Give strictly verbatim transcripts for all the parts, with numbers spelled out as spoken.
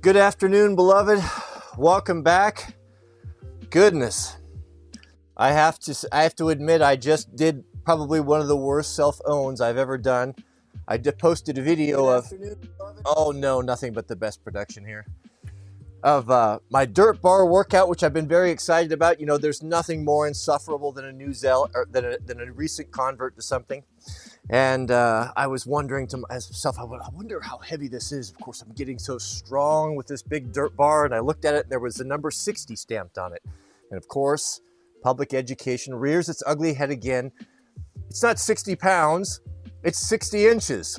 Good afternoon, beloved. Welcome back. Goodness, I have to I have to admit I just did probably one of the worst self-owns I've ever done. I just posted a video of oh no, nothing but the best production here of uh, my dirt bar workout, which I've been very excited about. You know, there's nothing more insufferable than a new zeal or than a, than a recent convert to something. And uh, I was wondering to myself, I wonder how heavy this is. Of course, I'm getting so strong with this big dirt bar. And I looked at it, and there was the number sixty stamped on it. And of course, public education rears its ugly head again. It's not sixty pounds, it's sixty inches.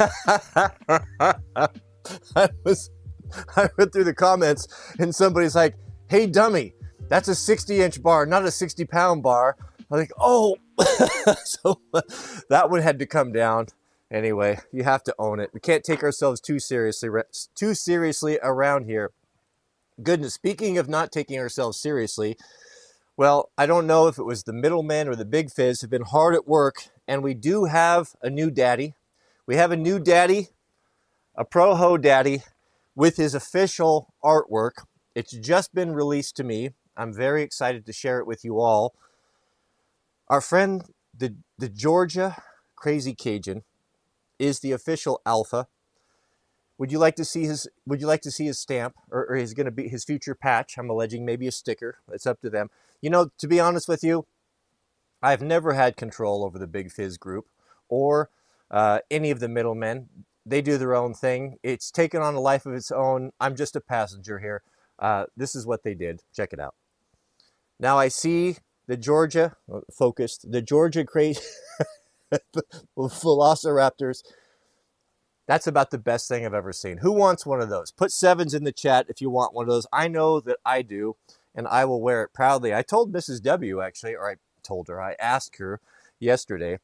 I was, I went through the comments, and somebody's like, "Hey, dummy, that's a sixty inch bar, not a sixty pound bar." I'm like, oh, so that one had to come down. Anyway, you have to own it. We can't take ourselves too seriously, too seriously around here. Goodness, speaking of not taking ourselves seriously, well, I don't know if it was the middlemen or the Big Fizz have been hard at work, and we do have a new daddy. We have a new daddy, a Pro-Ho daddy, with his official artwork. It's just been released to me. I'm very excited to share it with you all. Our friend, the, the Georgia Crazy Cajun, is the official alpha. Would you like to see his Would you like to see his stamp, or, or is going to be his future patch? I'm alleging maybe a sticker. It's up to them. You know, to be honest with you, I've never had control over the Big Fizz group or uh, any of the middlemen. They do their own thing. It's taken on a life of its own. I'm just a passenger here. Uh, this is what they did. Check it out. Now I see the Georgia, focused, the Georgia Crazy Velociraptors. That's about the best thing I've ever seen. Who wants one of those? Put sevens in the chat if you want one of those. I know that I do, and I will wear it proudly. I told Missus W, actually, or I told her, I asked her yesterday,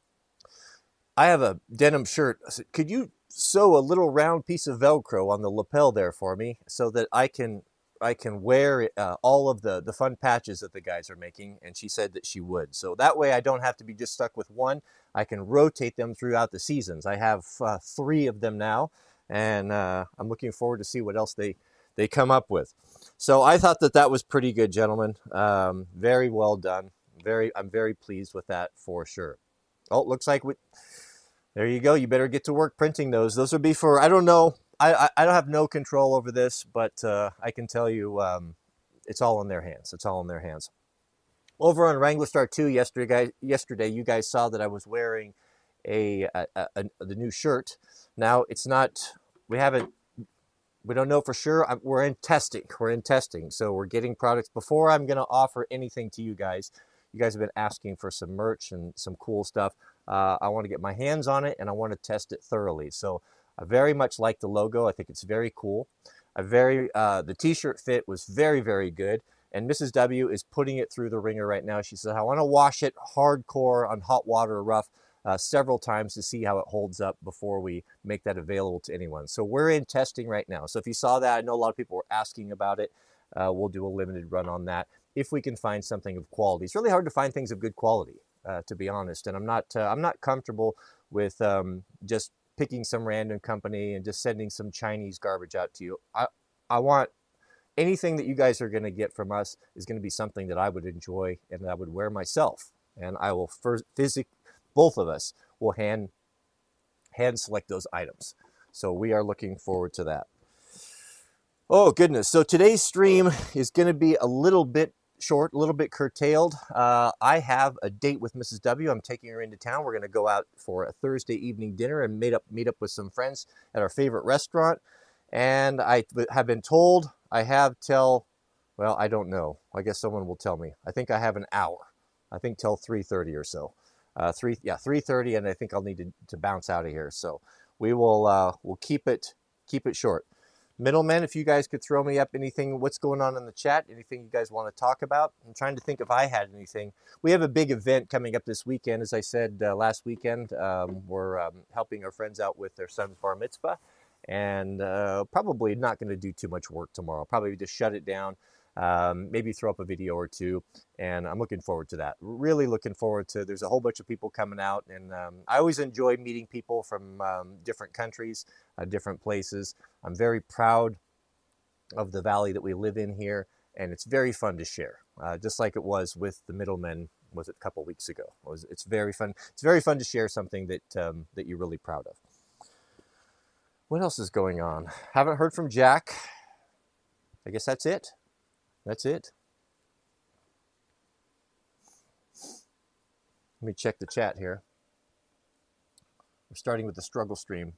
I have a denim shirt. I said, could you sew a little round piece of Velcro on the lapel there for me so that I can I can wear uh, all of the, the fun patches that the guys are making? And she said that she would. So that way I don't have to be just stuck with one. I can rotate them throughout the seasons. I have uh, three of them now, and uh, I'm looking forward to see what else they, they come up with. So I thought that that was pretty good, gentlemen. Um, very well done. Very, I'm very pleased with that for sure. Oh, it looks like we, there you go. You better get to work printing those. Those would be for, I don't know, I, I don't have no control over this, but uh, I can tell you um, it's all in their hands. It's all in their hands. Over on Wrangler Star two yesterday, yesterday you guys saw that I was wearing a, a, a, a the new shirt. Now, it's not, we haven't, we don't know for sure. I'm, we're in testing. We're in testing. So we're getting products. Before I'm going to offer anything to you guys, you guys have been asking for some merch and some cool stuff. Uh, I want to get my hands on it, and I want to test it thoroughly. So I very much like the logo. I think it's very cool. I very uh, the t-shirt fit was very, very good. And Missus W is putting it through the ringer right now. She said, I want to wash it hardcore on hot water or rough uh, several times to see how it holds up before we make that available to anyone. So we're in testing right now. So if you saw that, I know a lot of people were asking about it. Uh, we'll do a limited run on that if we can find something of quality. It's really hard to find things of good quality, uh, to be honest. And I'm not, uh, I'm not comfortable with um, just picking some random company and just sending some Chinese garbage out to you. I, I want anything that you guys are going to get from us is going to be something that I would enjoy and that I would wear myself. And I will first physically, both of us will hand, hand select those items. So we are looking forward to that. Oh, goodness. So today's stream is going to be a little bit short, a little bit curtailed. Uh, I have a date with Missus W. I'm taking her into town. We're going to go out for a Thursday evening dinner and meet up, meet up with some friends at our favorite restaurant. And I have been told I have till, well, I don't know. I guess someone will tell me. I think I have an hour. I think till three thirty or so. Uh, three, yeah, three thirty, and I think I'll need to, to bounce out of here. So we will uh, we'll keep it keep it short. Middlemen, if you guys could throw me up anything, what's going on in the chat, anything you guys want to talk about. I'm trying to think if I had anything. We have a big event coming up this weekend. As I said uh, last weekend, um, we're um, helping our friends out with their son's bar mitzvah, and uh, probably not going to do too much work tomorrow. Probably just shut it down, um, maybe throw up a video or two, and I'm looking forward to that. Really looking forward to, there's a whole bunch of people coming out, and um, I always enjoy meeting people from um, different countries, uh, different places. I'm very proud of the valley that we live in here, and it's very fun to share, uh, just like it was with the middlemen. Was it a couple weeks ago? It was, it's very fun. It's very fun to share something that um, that you're really proud of. What else is going on? Haven't heard from Jack. I guess that's it. That's it. Let me check the chat here. We're starting with the struggle stream.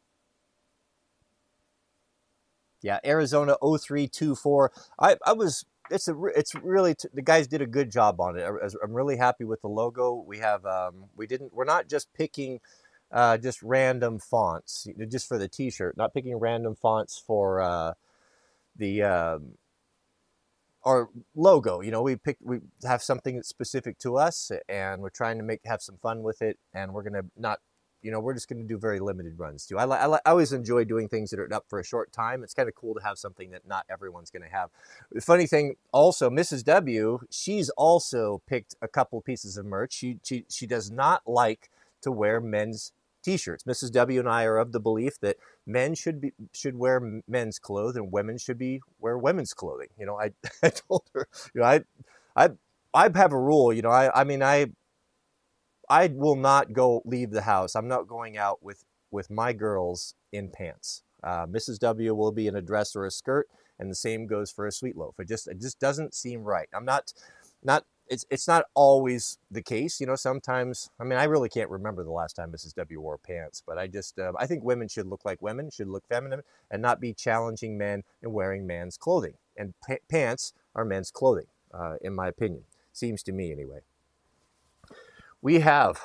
Yeah, Arizona oh three two four. I, I was, it's a, it's really, t the guys did a good job on it. I, I'm really happy with the logo. We have, um, we didn't, we're not just picking uh, just random fonts, just for the t-shirt, not picking random fonts for uh, the, um, our logo. You know, we pick, we have something that's specific to us, and we're trying to make, have some fun with it, and we're going to not, you know, we're just going to do very limited runs too. I, I, I always enjoy doing things that are up for a short time. It's kind of cool to have something that not everyone's going to have. The funny thing also, Missus W, she's also picked a couple pieces of merch. She, she, she does not like to wear men's t-shirts. Missus W and I are of the belief that men should be, should wear men's clothes and women should be wear women's clothing. You know, I, I told her, you know, I, I, I have a rule, you know, I, I mean, I, I will not go leave the house. I'm not going out with, with my girls in pants. Uh, Missus W will be in a dress or a skirt, and the same goes for a Sweet Loaf. It just, it just doesn't seem right. I'm not, not, it's, it's not always the case. You know, sometimes, I mean, I really can't remember the last time Missus W wore pants, but I just, uh, I think women should look like women, should look feminine, and not be challenging men in wearing man's clothing. And pa pants are men's clothing, uh, in my opinion. Seems to me anyway. We have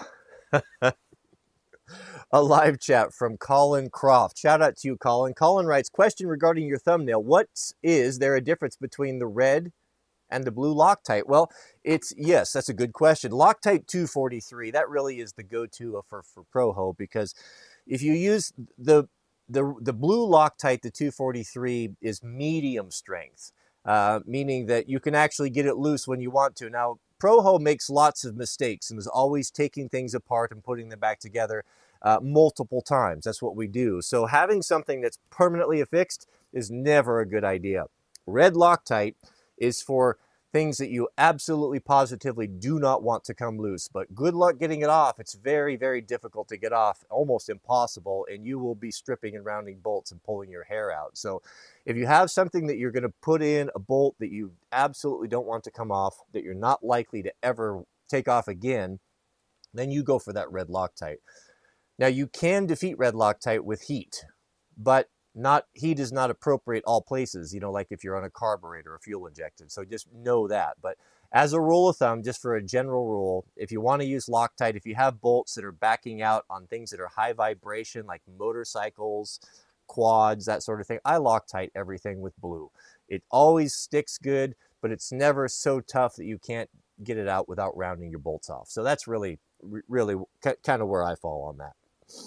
a live chat from Colin Croft. Shout out to you, Colin. Colin writes, question regarding your thumbnail. What is there a difference between the red and the blue Loctite? Well, it's, yes, that's a good question. Loctite two forty-three, that really is the go-to for, for ProHo, because if you use the, the, the blue Loctite, the two forty-three is medium strength, uh, meaning that you can actually get it loose when you want to. Now, ProHo makes lots of mistakes and is always taking things apart and putting them back together uh, multiple times. That's what we do. So having something that's permanently affixed is never a good idea. Red Loctite is for things that you absolutely positively do not want to come loose, but good luck getting it off. It's very, very difficult to get off, almost impossible, and you will be stripping and rounding bolts and pulling your hair out. So if you have something that you're going to put in, a bolt that you absolutely don't want to come off, that you're not likely to ever take off again, then you go for that red Loctite. Now, you can defeat red Loctite with heat, but not heat is not appropriate all places, you know, like if you're on a carburetor or fuel injected. So just know that. But as a rule of thumb, just for a general rule, if you want to use Loctite, if you have bolts that are backing out on things that are high vibration, like motorcycles, quads, that sort of thing, I Loctite everything with blue. It always sticks good, but it's never so tough that you can't get it out without rounding your bolts off. So that's really, really kind of where I fall on that.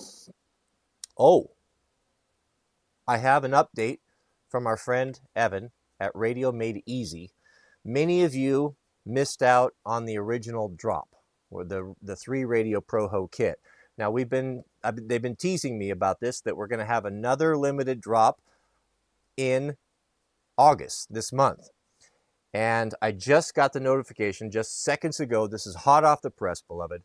Oh, I have an update from our friend Evan at Radio Made Easy. Many of you missed out on the original drop, or the the three Radio ProHo kit. Now we've been, I've been they've been teasing me about this, that we're going to have another limited drop in August this month, and I just got the notification just seconds ago. This is hot off the press, beloved.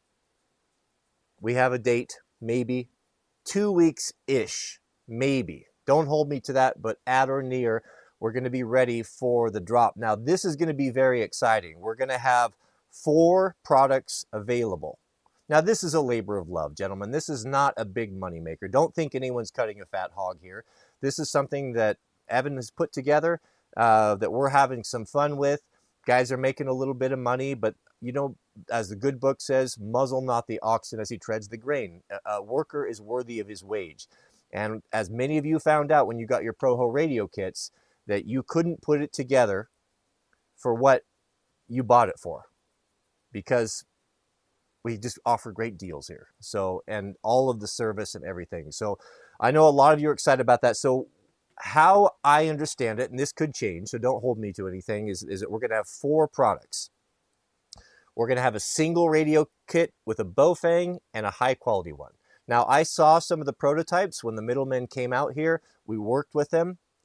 We have a date, maybe two weeks ish, maybe. Don't hold me to that, but at or near, we're going to be ready for the drop. Now, this is going to be very exciting. We're going to have four products available. Now, this is a labor of love, gentlemen. This is not a big money maker. Don't think anyone's cutting a fat hog here. This is something that Evan has put together, uh, that we're having some fun with. Guys are making a little bit of money, but, you know, as the good book says, muzzle not the oxen as he treads the grain. A, a worker is worthy of his wage. And as many of you found out when you got your ProHo radio kits, that you couldn't put it together for what you bought it for, because we just offer great deals here. So, and all of the service and everything. So I know a lot of you are excited about that. So how I understand it, and this could change, so don't hold me to anything, is, is that we're going to have four products. We're going to have a single radio kit with a Baofeng and a high quality one. Now, I saw some of the prototypes when the middlemen came out here. We worked with them,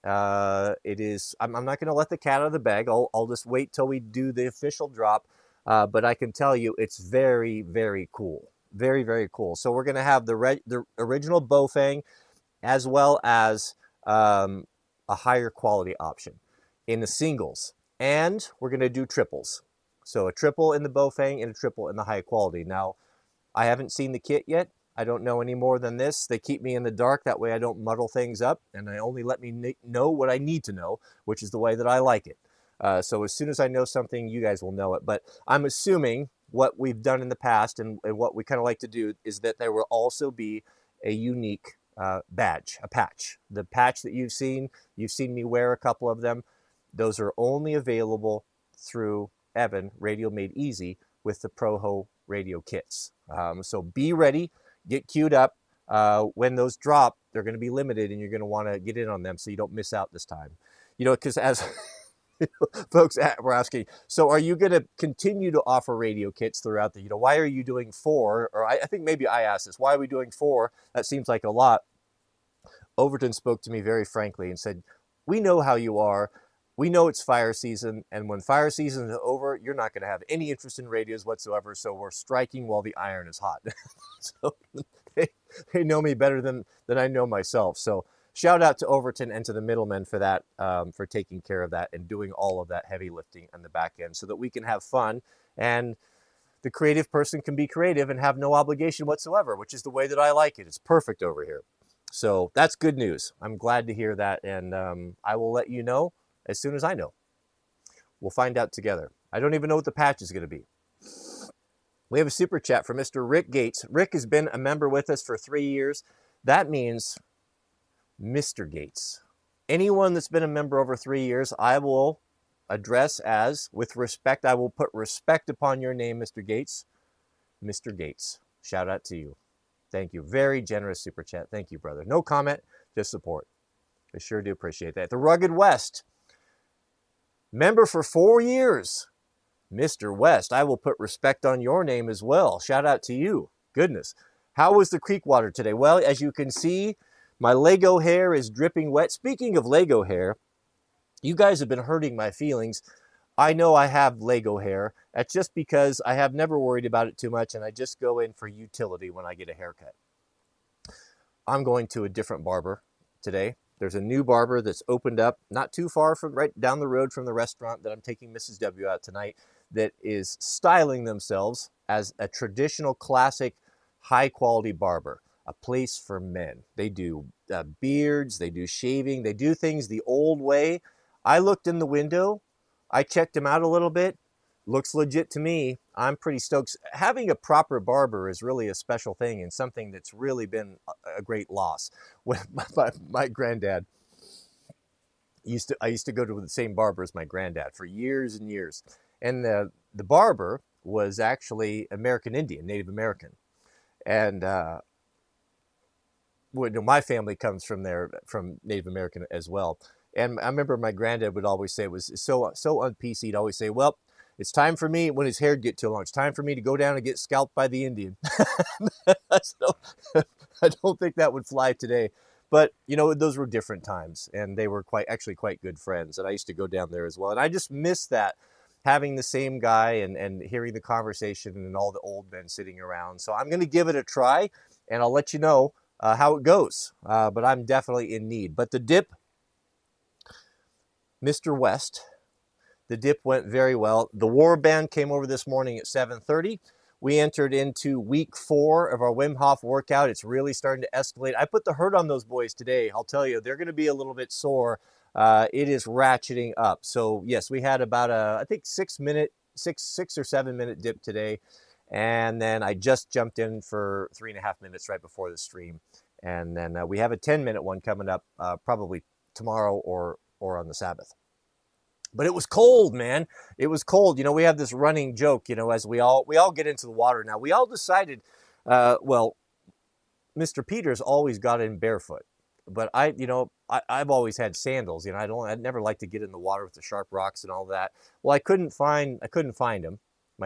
Uh, it is. I'm, I'm not going to let the cat out of the bag. I'll, I'll just wait till we do the official drop. Uh, but I can tell you, it's very, very cool. Very, very cool. So we're going to have the re- the original Bofang, as well as um, a higher quality option in the singles, and we're going to do triples. So a triple in the Bofang and a triple in the high quality. Now, I haven't seen the kit yet. I don't know any more than this. They keep me in the dark. That way I don't muddle things up, and they only let me know what I need to know, which is the way that I like it. Uh, so as soon as I know something, you guys will know it. But I'm assuming what we've done in the past and, and what we kind of like to do is that there will also be a unique uh, badge, a patch. The patch that you've seen, you've seen me wear a couple of them. Those are only available through Evan, Radio Made Easy, with the Proho radio kits. Um, so be ready. Get queued up. Uh, when those drop, they're going to be limited, and you're going to want to get in on them so you don't miss out this time. You know, because as folks were asking, so are you going to continue to offer radio kits throughout the, you know, why are you doing four? Or I, I think maybe I asked this, why are we doing four? That seems like a lot. Overton spoke to me very frankly and said, we know how you are. We know it's fire season, and when fire season is over, you're not going to have any interest in radios whatsoever, so we're striking while the iron is hot. So they, they know me better than, than I know myself. So shout out to Overton and to the middlemen for that, um, for taking care of that and doing all of that heavy lifting on the back end so that we can have fun, and the creative person can be creative and have no obligation whatsoever, which is the way that I like it. It's perfect over here. So that's good news. I'm glad to hear that, and um, I will let you know as soon as I know. We'll find out together. I don't even know what the patch is going to be. We have a super chat from Mister Rick Gates. Rick has been a member with us for three years. That means Mister Gates. Anyone that's been a member over three years, I will address as, with respect, I will put respect upon your name, Mister Gates. Mister Gates, shout out to you. Thank you. Very generous super chat. Thank you, brother. No comment, just support. I sure do appreciate that. The Rugged West. Member for four years. Mister West, I will put respect on your name as well. Shout out to you. Goodness. How was the creek water today? Well, as you can see, my Lego hair is dripping wet. Speaking of Lego hair, you guys have been hurting my feelings. I know I have Lego hair. That's just because I have never worried about it too much, and I just go in for utility when I get a haircut. I'm going to a different barber today. There's a new barber that's opened up not too far from right down the road from the restaurant that I'm taking Missus W out tonight, that is styling themselves as a traditional, classic, high-quality barber, a place for men. They do uh, beards, they do shaving, they do things the old way. I looked in the window, I checked him out a little bit. Looks legit to me. I'm pretty stoked. Having a proper barber is really a special thing and something that's really been a great loss. When my, my, my granddad used to, I used to go to the same barber as my granddad for years and years. And the, the barber was actually American Indian, Native American. And uh, well, my family comes from there, from Native American as well. And I remember my granddad would always say, it was so, so un-P C, he'd always say, well, it's time for me, when his hair get too long, it's time for me to go down and get scalped by the Indian. So, I don't think that would fly today. But, you know, those were different times, and they were quite actually quite good friends. And I used to go down there as well. And I just miss that, having the same guy and, and hearing the conversation and all the old men sitting around. So I'm going to give it a try, and I'll let you know uh, how it goes. Uh, but I'm definitely in need. But the dip, Mister West, the dip went very well. The War Band came over this morning at seven thirty. We entered into week four of our Wim Hof workout. It's really starting to escalate. I put the hurt on those boys today. I'll tell you, they're going to be a little bit sore. Uh, it is ratcheting up. So yes, we had about a, I think six minute, six, six or seven minute dip today. And then I just jumped in for three and a half minutes right before the stream. And then uh, we have a ten minute one coming up uh, probably tomorrow or, or on the Sabbath. But it was cold, man. It was cold. You know, we have this running joke, you know, as we all we all get into the water now. We all decided, uh, well, Mister Peters always got in barefoot. But I, you know, I, I've always had sandals. You know, I don't, I'd never like to get in the water with the sharp rocks and all that. Well, I couldn't find, I couldn't find them. My, my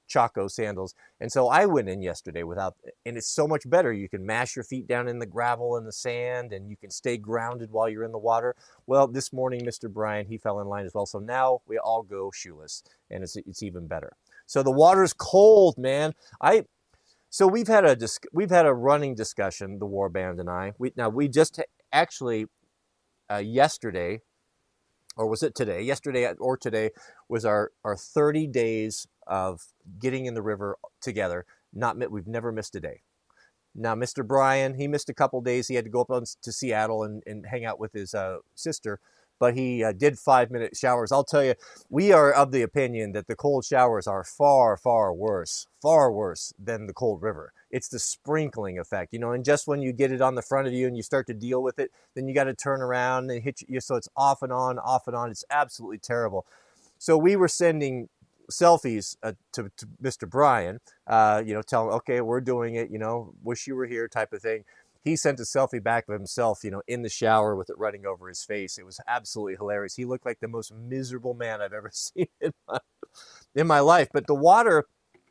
Chaco sandals. And so I went in yesterday without, and it's so much better. You can mash your feet down in the gravel and the sand, and you can stay grounded while you're in the water. Well, this morning, Mister Brian, he fell in line as well. So now we all go shoeless, and it's, it's even better. So the water's cold, man. I, so we've had a, we've had a running discussion, the Warband and I. We, now we just actually, uh, yesterday, or was it today? Yesterday or today was our, our thirty days of getting in the river together. Not We've never missed a day. Now, Mister Brian, he missed a couple days. He had to go up to Seattle and, and hang out with his uh, sister, but he uh, did five-minute showers. I'll tell you, we are of the opinion that the cold showers are far, far worse, far worse than the cold river. It's the sprinkling effect, you know, and just when you get it on the front of you and you start to deal with it, then you got to turn around and hit you. So it's off and on, off and on. It's absolutely terrible. So we were sending selfies uh, to, to Mister Brian, uh, you know, tell him, okay, we're doing it, you know, wish you were here type of thing. He sent a selfie back of himself, you know, in the shower with it running over his face. It was absolutely hilarious. He looked like the most miserable man I've ever seen in my, in my life. But the water,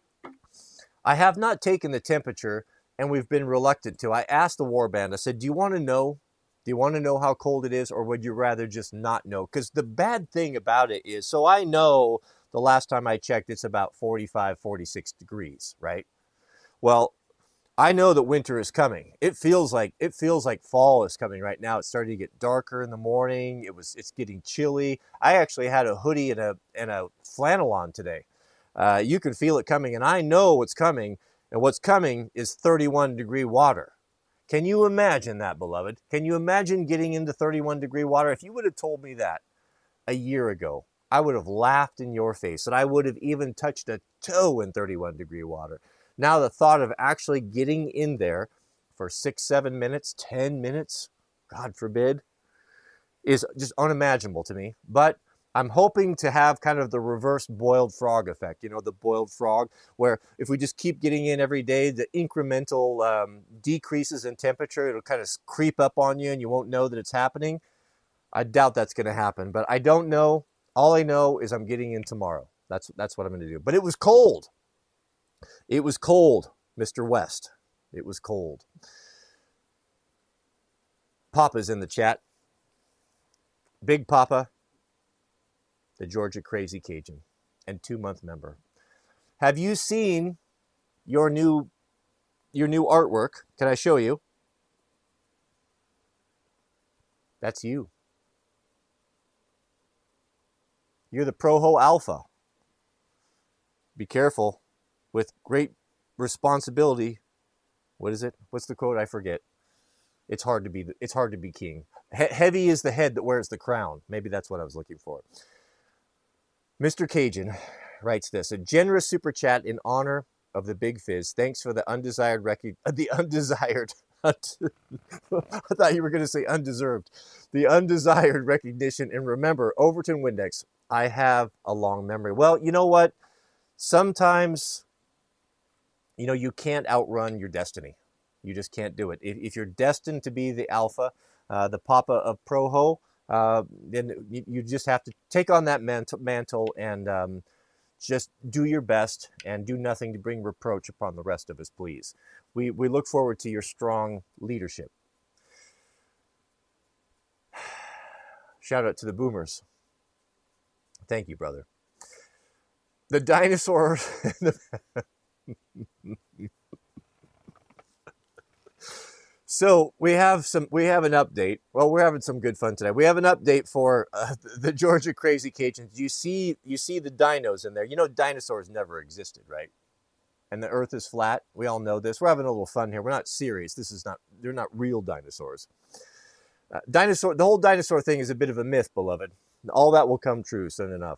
I have not taken the temperature, and we've been reluctant to. I asked the Warband, I said, do you want to know? Do you want to know how cold it is, or would you rather just not know? Because the bad thing about it is, so I know the last time I checked, it's about forty-five, forty-six degrees, right? Well, I know that winter is coming. It feels like it feels like fall is coming right now. It's starting to get darker in the morning. It was it's getting chilly. I actually had a hoodie and a and a flannel on today. Uh, you can feel it coming, and I know what's coming. And what's coming is thirty-one degree water. Can you imagine that, beloved? Can you imagine getting into thirty-one degree water? If you would have told me that a year ago, I would have laughed in your face, and I would have even touched a toe in thirty-one degree water. Now the thought of actually getting in there for six, seven minutes, ten minutes, God forbid, is just unimaginable to me. But I'm hoping to have kind of the reverse boiled frog effect, you know, the boiled frog, where if we just keep getting in every day, the incremental um, decreases in temperature, it'll kind of creep up on you and you won't know that it's happening. I doubt that's going to happen, but I don't know. All I know is I'm getting in tomorrow. That's, that's what I'm going to do. But it was cold. It was cold, Mister West. It was cold. Papa's in the chat. Big Papa, the Georgia Crazy Cajun, and two-month member. Have you seen your new your new artwork? Can I show you? That's you. You're the Proho Alpha. Be careful. With great responsibility. What is it? What's the quote? I forget. It's hard to be. It's hard to be king. He heavy is the head that wears the crown. Maybe that's what I was looking for. Mister Cajun writes this: a generous super chat in honor of the Big Fizz. Thanks for the undesired record. The undesired. I thought you were going to say undeserved. The undesired recognition. And remember, Overton Windex. I have a long memory. Well, you know what? Sometimes, you know, you can't outrun your destiny. You just can't do it. If, if you're destined to be the alpha, uh, the papa of Proho, uh, then you, you just have to take on that mantle, mantle and um, just do your best and do nothing to bring reproach upon the rest of us, please. We, we look forward to your strong leadership. Shout out to the boomers. Thank you, brother. The dinosaurs... So we have some, we have an update. Well, we're having some good fun today. We have an update for uh, the Georgia Crazy Cajuns. You see, you see the dinos in there. You know, dinosaurs never existed, right? And the Earth is flat. We all know this. We're having a little fun here. We're not serious. This is not. They're not real dinosaurs. Uh, dinosaur. The whole dinosaur thing is a bit of a myth, beloved. All that will come true soon enough.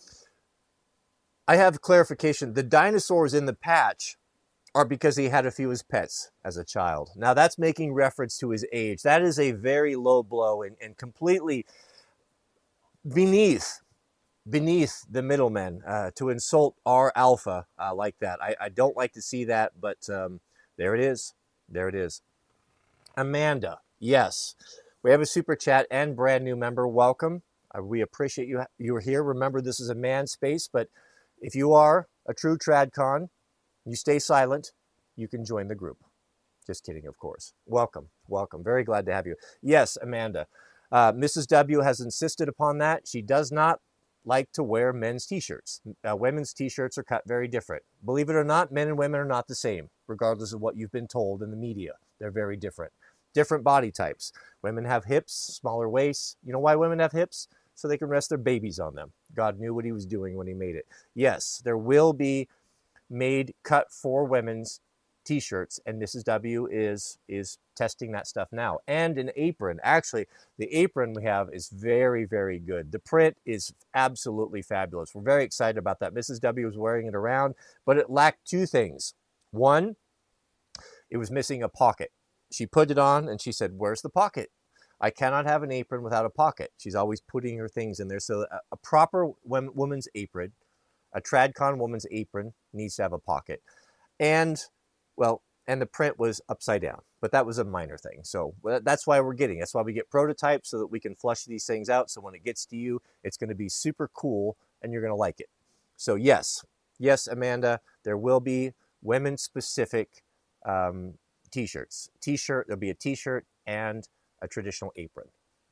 I have clarification. The dinosaurs in the patch are because he had a few as pets as a child. Now that's making reference to his age. That is a very low blow and, and completely beneath beneath the middlemen uh, to insult our alpha uh, like that. I, I don't like to see that, but um, there it is. There it is. Amanda, yes. We have a super chat and brand new member. Welcome. Uh, we appreciate you you're here. Remember, this is a man space, but If you are a true TradCon, you stay silent, you can join the group. Just kidding, of course. Welcome, welcome. Very glad to have you. Yes, Amanda. Uh, Missus W has insisted upon that. She does not like to wear men's t-shirts. Uh, women's t-shirts are cut very different. Believe it or not, men and women are not the same, regardless of what you've been told in the media. They're very different. Different body types. Women have hips, smaller waists. You know why women have hips? So they can rest their babies on them. God knew what he was doing when he made it. Yes, there will be made cut for women's t-shirts, and Missus W is is testing that stuff now. And an apron. Actually, the apron we have is very, very good. The print is absolutely fabulous. We're very excited about that. Missus W was wearing it around, but it lacked two things. One, it was missing a pocket. She put it on and she said, "Where's the pocket? I cannot have an apron without a pocket." She's always putting her things in there. So a, a proper woman's apron, a TradCon woman's apron, needs to have a pocket. And, well, and the print was upside down, but that was a minor thing. So that's why we're getting, that's why we get prototypes, so that we can flush these things out. So when it gets to you, it's going to be super cool and you're going to like it. So yes, yes, Amanda, there will be women specific um, t-shirts. T-shirt, there'll be a t-shirt and a traditional apron.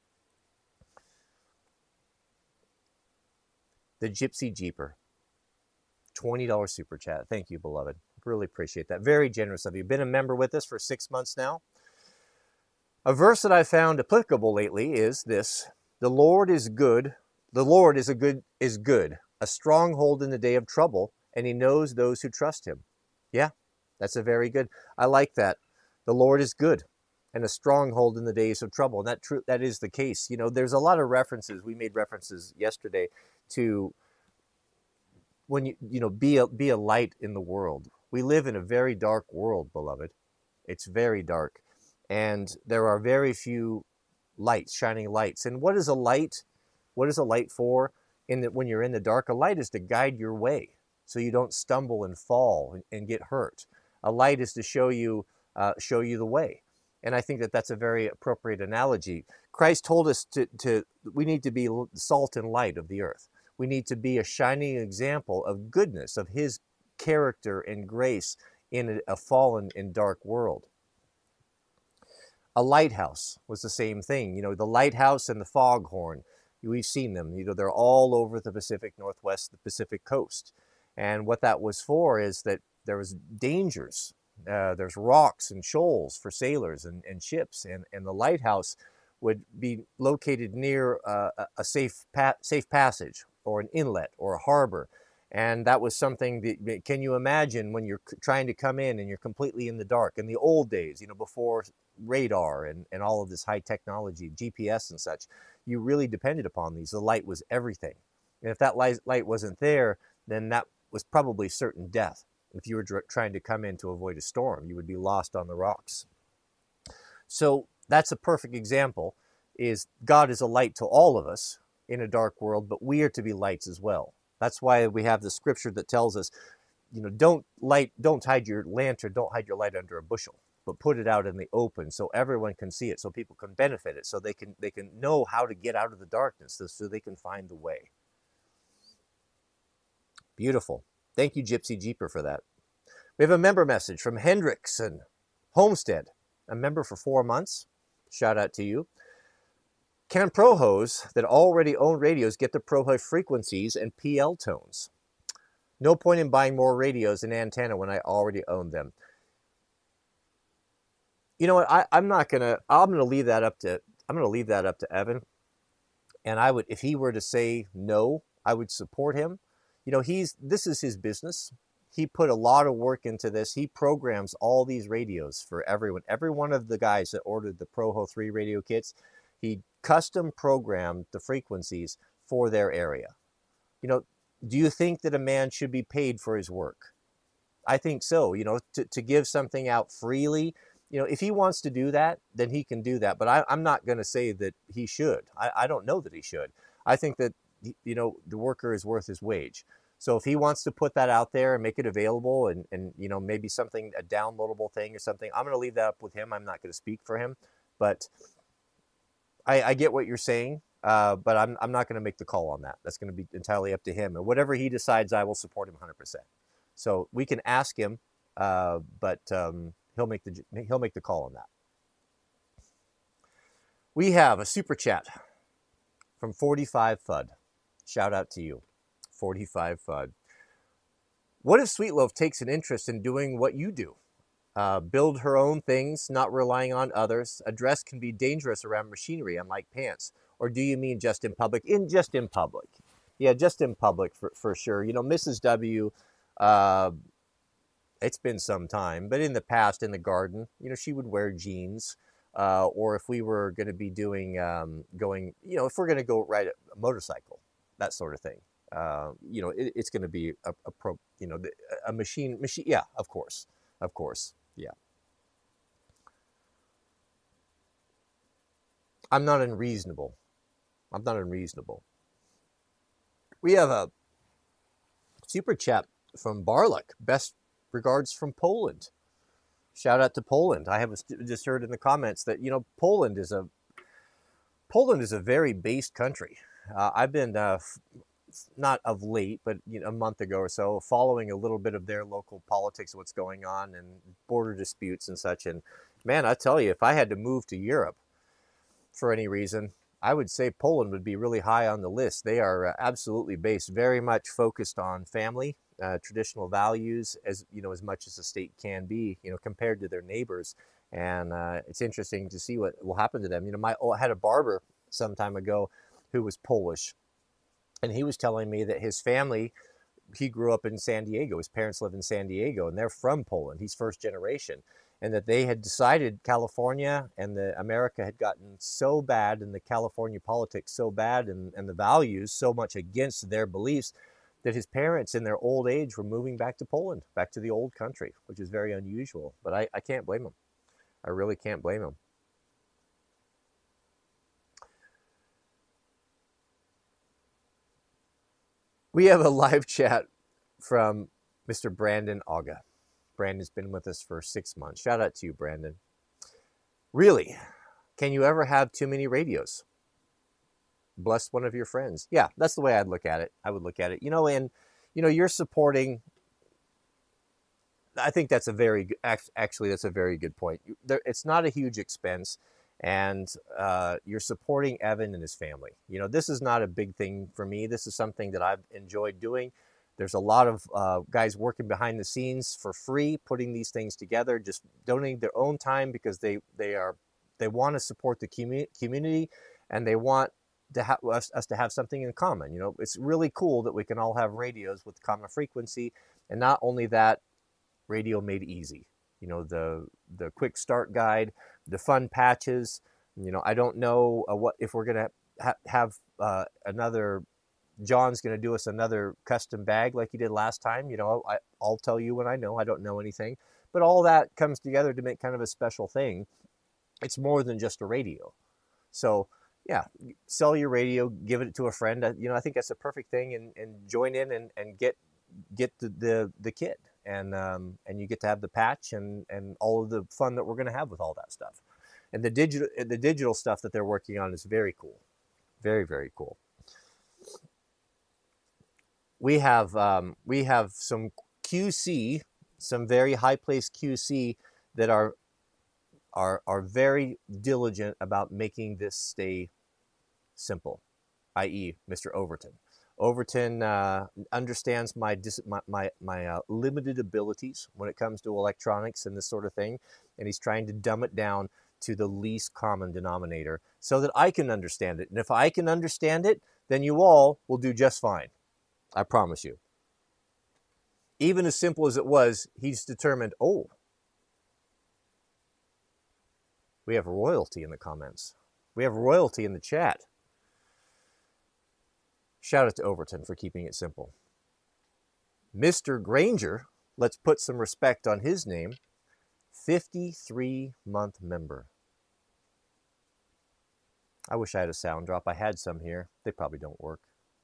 The Gypsy Jeeper, twenty dollar super chat. Thank you, beloved. Really appreciate that. Very generous of you. Been a member with us for six months now. A verse that I found applicable lately is this: the Lord is good. The Lord is a good is good, a stronghold in the day of trouble, and he knows those who trust him. Yeah, that's a very good. I like that. The Lord is good and a stronghold in the days of trouble. And that true that is the case. You know, there's a lot of references. We made references yesterday to when you you know be a be a light in the world. We live in a very dark world, beloved. It's very dark. And there are very few lights, shining lights. And what is a light? What is a light for? In that when you're in the dark, a light is to guide your way so you don't stumble and fall and, and get hurt. A light is to show you uh, show you the way. And I think that that's a very appropriate analogy. Christ told us to, to we need to be salt and light of the earth. We need to be a shining example of goodness, of his character and grace in a fallen and dark world. A lighthouse was the same thing. You know, the lighthouse and the foghorn, we've seen them. You know, they're all over the Pacific Northwest, the Pacific coast. And what that was for is that there was dangers. Uh, there's rocks and shoals for sailors and, and ships. And, and the lighthouse would be located near uh, a safe pa- safe passage or an inlet or a harbor. And that was something that, can you imagine when you're trying to come in and you're completely in the dark? In the old days, you know, before radar and, and all of this high technology, G P S and such, you really depended upon these. The light was everything. And if that light, light wasn't there, then that was probably certain death. If you were dr- trying to come in to avoid a storm, you would be lost on the rocks. So that's a perfect example, is God is a light to all of us in a dark world, but we are to be lights as well. That's why we have the scripture that tells us, you know, don't light, don't hide your lantern, don't hide your light under a bushel, but put it out in the open so everyone can see it, so people can benefit it, so they can they can know how to get out of the darkness, so they can find the way. Beautiful. Thank you, Gypsy Jeeper, for that. We have a member message from Hendrickson Homestead, a member for four months. Shout out to you. Can ProHos that already own radios get the ProHo frequencies and P L tones? No point in buying more radios and antenna when I already own them. You know what? I, I'm not gonna. I'm gonna leave that up to. I'm gonna leave that up to Evan. And I would, if he were to say no, I would support him. You know, he's. This is his business. He put a lot of work into this. He programs all these radios for everyone. Every one of the guys that ordered the ProHo three radio kits, he custom programmed the frequencies for their area. You know, do you think that a man should be paid for his work? I think so. You know, to, to give something out freely, you know, if he wants to do that, then he can do that. But I, I'm not going to say that he should. I, I don't know that he should. I think that, you know, the worker is worth his wage. So if he wants to put that out there and make it available and, and you know, maybe something, a downloadable thing or something, I'm going to leave that up with him. I'm not going to speak for him. But I, I get what you're saying. Uh, but I'm, I'm not going to make the call on that. That's going to be entirely up to him. And whatever he decides, I will support him one hundred percent. So we can ask him, uh, but um, he'll make the he'll make the call on that. We have a super chat from forty-five F U D. Shout out to you, forty-five F U D. What if Sweet Loaf takes an interest in doing what you do? Uh, build her own things, not relying on others. A dress can be dangerous around machinery, unlike pants. Or do you mean just in public? In just in public. Yeah, just in public for, for sure. You know, Missus W, uh, it's been some time, but in the past, in the garden, you know, she would wear jeans. Uh, or if we were going to be doing, um, going, you know, if we're going to go ride a motorcycle, that sort of thing. Uh, you know, it, it's going to be a, a pro, you know, a machine, machine. Yeah, of course, of course. Yeah. I'm not unreasonable. I'm not unreasonable. We have a super chat from Barluk. Best regards from Poland. Shout out to Poland. I have just heard in the comments that, you know, Poland is a Poland is a very based country. Uh, I've been uh, not of late, but you know, a month ago or so, following a little bit of their local politics, what's going on, and border disputes and such. And man, I tell you, if I had to move to Europe for any reason, I would say Poland would be really high on the list. They are uh, absolutely based, very much focused on family, uh, traditional values, as you know, as much as a state can be, you know, compared to their neighbors. And uh, it's interesting to see what will happen to them. You know, my oh, I had a barber some time ago who was Polish, and he was telling me that his family, he grew up in San Diego. His parents live in San Diego, and they're from Poland. He's first generation. And that they had decided California and the America had gotten so bad, and the California politics so bad, and, and the values so much against their beliefs, that his parents in their old age were moving back to Poland, back to the old country, which is very unusual. But I, I can't blame them. I really can't blame them. We have a live chat from Mister Brandon Auga. Brandon's been with us for six months. Shout out to you, Brandon. Really, can you ever have too many radios? Bless one of your friends. Yeah, that's the way I'd look at it. I would look at it. You know, and, you know, you're supporting, I think that's a very, actually, that's a very good point. It's not a huge expense, and uh, you're supporting Evan and his family. You know, this is not a big thing for me. This is something that I've enjoyed doing. There's a lot of uh, guys working behind the scenes for free, putting these things together, just donating their own time because they they are they want to support the commu- community, and they want to have us, us to have something in common. You know, it's really cool that we can all have radios with common frequency, and not only that, radio made easy. You know, the the quick start guide, the fun patches. You know, I don't know uh, what if we're gonna ha- have uh, another. John's going to do us another custom bag like he did last time. You know, I, I'll tell you when I know. I don't know anything. But all that comes together to make kind of a special thing. It's more than just a radio. So, yeah, sell your radio, give it to a friend. You know, I think that's a perfect thing. And, and join in and, and get get the, the, the kit. And um, and you get to have the patch and, and all of the fun that we're going to have with all that stuff. And the digital, the digital stuff that they're working on is very cool. Very, very cool. We have um, we have some Q C, some very high placed Q C that are are are very diligent about making this stay simple, that is, Mister Overton. Overton uh, understands my dis- my my, my uh, limited abilities when it comes to electronics and this sort of thing, and he's trying to dumb it down to the least common denominator so that I can understand it. And if I can understand it, then you all will do just fine. I promise you. Even as simple as it was, he's determined, oh, we have royalty in the comments. We have royalty in the chat. Shout out to Overton for keeping it simple. Mister Granger, let's put some respect on his name, fifty-three month member. I wish I had a sound drop. I had some here. They probably don't work.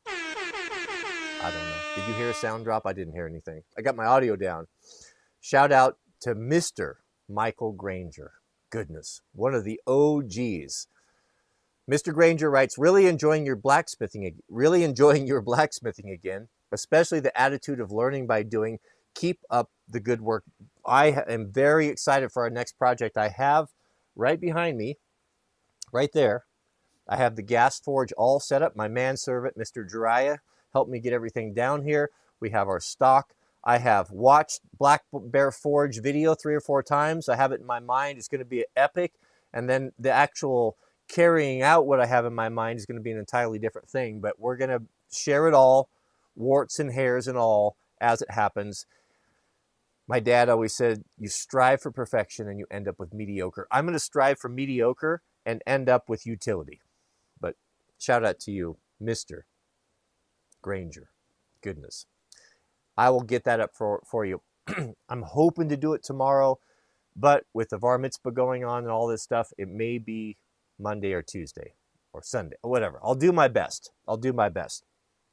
I don't know. Did you hear a sound drop? I didn't hear anything. I got my audio down. Shout out to Mister Michael Granger. Goodness, one of the O Gs. Mister Granger writes, really enjoying your blacksmithing, really enjoying your blacksmithing again, especially the attitude of learning by doing. Keep up the good work. I am very excited for our next project. I have right behind me, right there, I have the gas forge all set up. My manservant, Mister Jiraiya, helped me get everything down here. We have our stock. I have watched Black Bear Forge video three or four times. I have it in my mind. It's going to be epic. And then the actual carrying out what I have in my mind is going to be an entirely different thing. But we're going to share it all, warts and hairs and all, as it happens. My dad always said, you strive for perfection and you end up with mediocre. I'm going to strive for mediocre and end up with utility. But shout out to you, Mister Granger. Goodness. I will get that up for, for you. I'm hoping to do it tomorrow, but with the Var Mitzvah going on and all this stuff, it may be Monday or Tuesday or Sunday or whatever. I'll do my best. I'll do my best.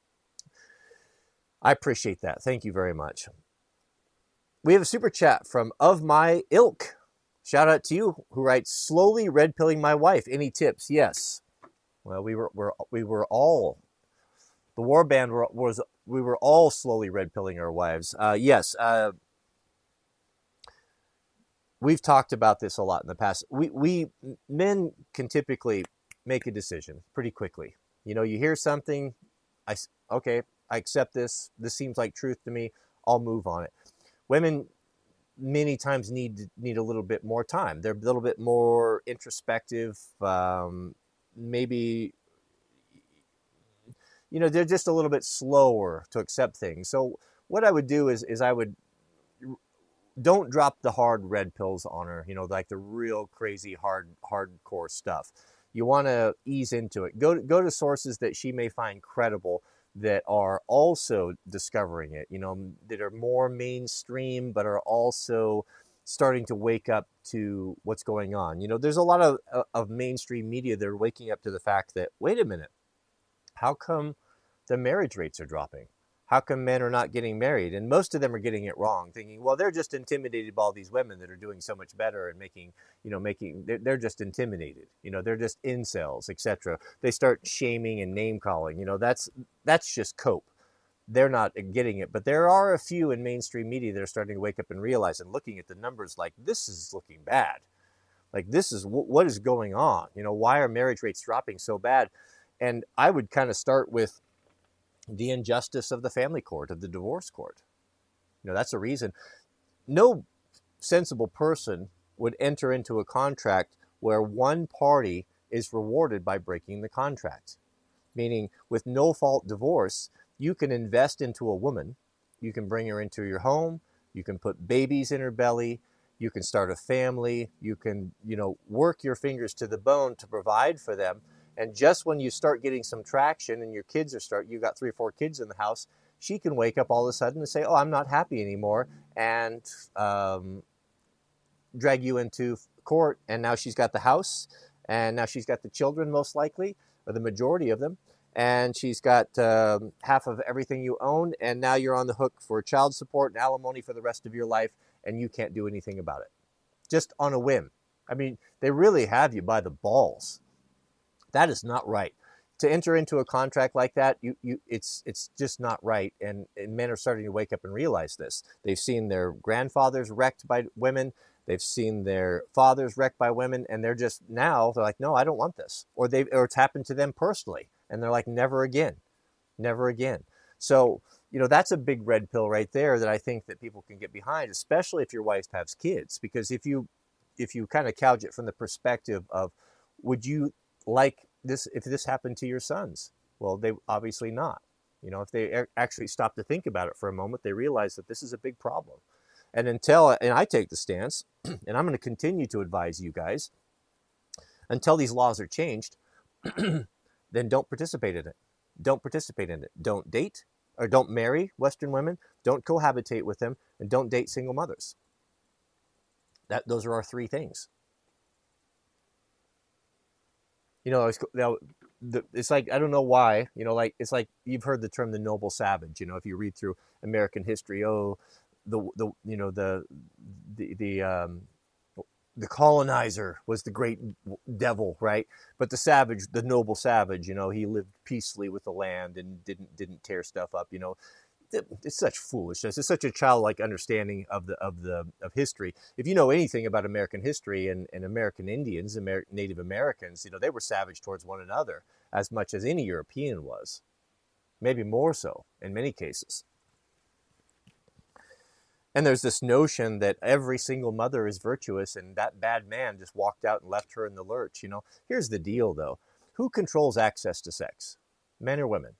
I appreciate that. Thank you very much. We have a super chat from Of My Ilk. Shout out to you, who writes, slowly red pilling my wife. Any tips? Yes. Well, we were, we're, we were all, the war band were, was, we were all slowly red pilling our wives. Uh, yes. Uh, we've talked about this a lot in the past. We, we, men can typically make a decision pretty quickly. You know, you hear something, I, okay, I accept this. This seems like truth to me. I'll move on it. Women many times need need a little bit more time. They're a little bit more introspective. Um, maybe, you know, they're just a little bit slower to accept things. So what I would do is is I would, don't drop the hard red pills on her. You know, like the real crazy hard hardcore stuff. You want to ease into it. Go go to sources that she may find credible, that are also discovering it, you know, that are more mainstream, but are also starting to wake up to what's going on. You know, there's a lot of, of mainstream media that are waking up to the fact that, wait a minute, how come the marriage rates are dropping? How come men are not getting married? And most of them are getting it wrong, thinking, well, they're just intimidated by all these women that are doing so much better and making, you know, making, they're, they're just intimidated. You know, they're just incels, et cetera. They start shaming and name calling. You know, that's, that's just cope. They're not getting it. But there are a few in mainstream media that are starting to wake up and realize, and looking at the numbers like, this is looking bad. Like, this is, what is going on? You know, why are marriage rates dropping so bad? And I would kind of start with the injustice of the family court, of the divorce court. You know, that's a reason. No sensible person would enter into a contract where one party is rewarded by breaking the contract. Meaning, with no-fault divorce, you can invest into a woman, you can bring her into your home, you can put babies in her belly, you can start a family, you can, you know, work your fingers to the bone to provide for them. And just when you start getting some traction and your kids are start, you got three or four kids in the house, she can wake up all of a sudden and say, oh, I'm not happy anymore, and um, drag you into court. And now she's got the house, and now she's got the children, most likely, or the majority of them. And she's got um, half of everything you own. And now you're on the hook for child support and alimony for the rest of your life. And you can't do anything about it. Just on a whim. I mean, they really have you by the balls. That is not right. To enter into a contract like that, you, you, it's, it's just not right. And, and men are starting to wake up and realize this. They've seen their grandfathers wrecked by women. They've seen their fathers wrecked by women. And they're just now, they're like, no, I don't want this. Or, they've, or it's happened to them personally. And they're like, never again. Never again. So, you know, that's a big red pill right there that I think that people can get behind, especially if your wife has kids. Because if you, if you kind of couch it from the perspective of, would you like this if this happened to your sons? Well, they obviously not. You know, if they actually stop to think about it for a moment, they realize that this is a big problem. And until, and I take the stance, and I'm going to continue to advise you guys, until these laws are changed, then don't participate in it. Don't participate in it. Don't date, or don't marry Western women. Don't cohabitate with them, and don't date single mothers. That those are our three things. You know, it's, it's like, I don't know why, you know, like, it's like, you've heard the term the noble savage. You know, if you read through American history, oh, the, the you know, the, the, the, um, the colonizer was the great devil, right? But the savage, the noble savage, you know, he lived peacefully with the land and didn't didn't tear stuff up, you know. It's such foolishness. It's such a childlike understanding of the of the of history. If you know anything about American history and, and American Indians, Amer- Native Americans, you know, they were savage towards one another as much as any European was, maybe more so in many cases. And there's this notion that every single mother is virtuous and that bad man just walked out and left her in the lurch. You know, here's the deal though. Who controls access to sex? Men or women?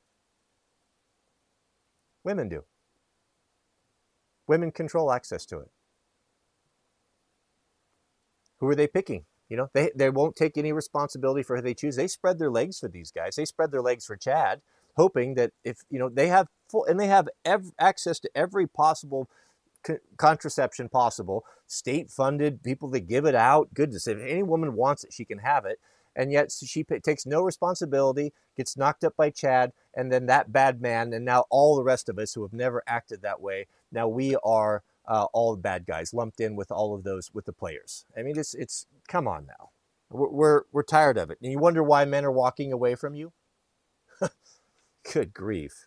Women do. Women control access to it. Who are they picking? You know, they, they won't take any responsibility for who they choose. They spread their legs for these guys. They spread their legs for Chad, hoping that if, you know, they have full, and they have ev- access to every possible co- contraception possible, state-funded, people that give it out. Goodness, if any woman wants it, she can have it. And yet she p- takes no responsibility, gets knocked up by Chad, and then that bad man, and now all the rest of us who have never acted that way, now we are uh, all the bad guys lumped in with all of those, with the players. I mean, it's, it's come on now. We're, we're, we're tired of it. And you wonder why men are walking away from you? Good grief.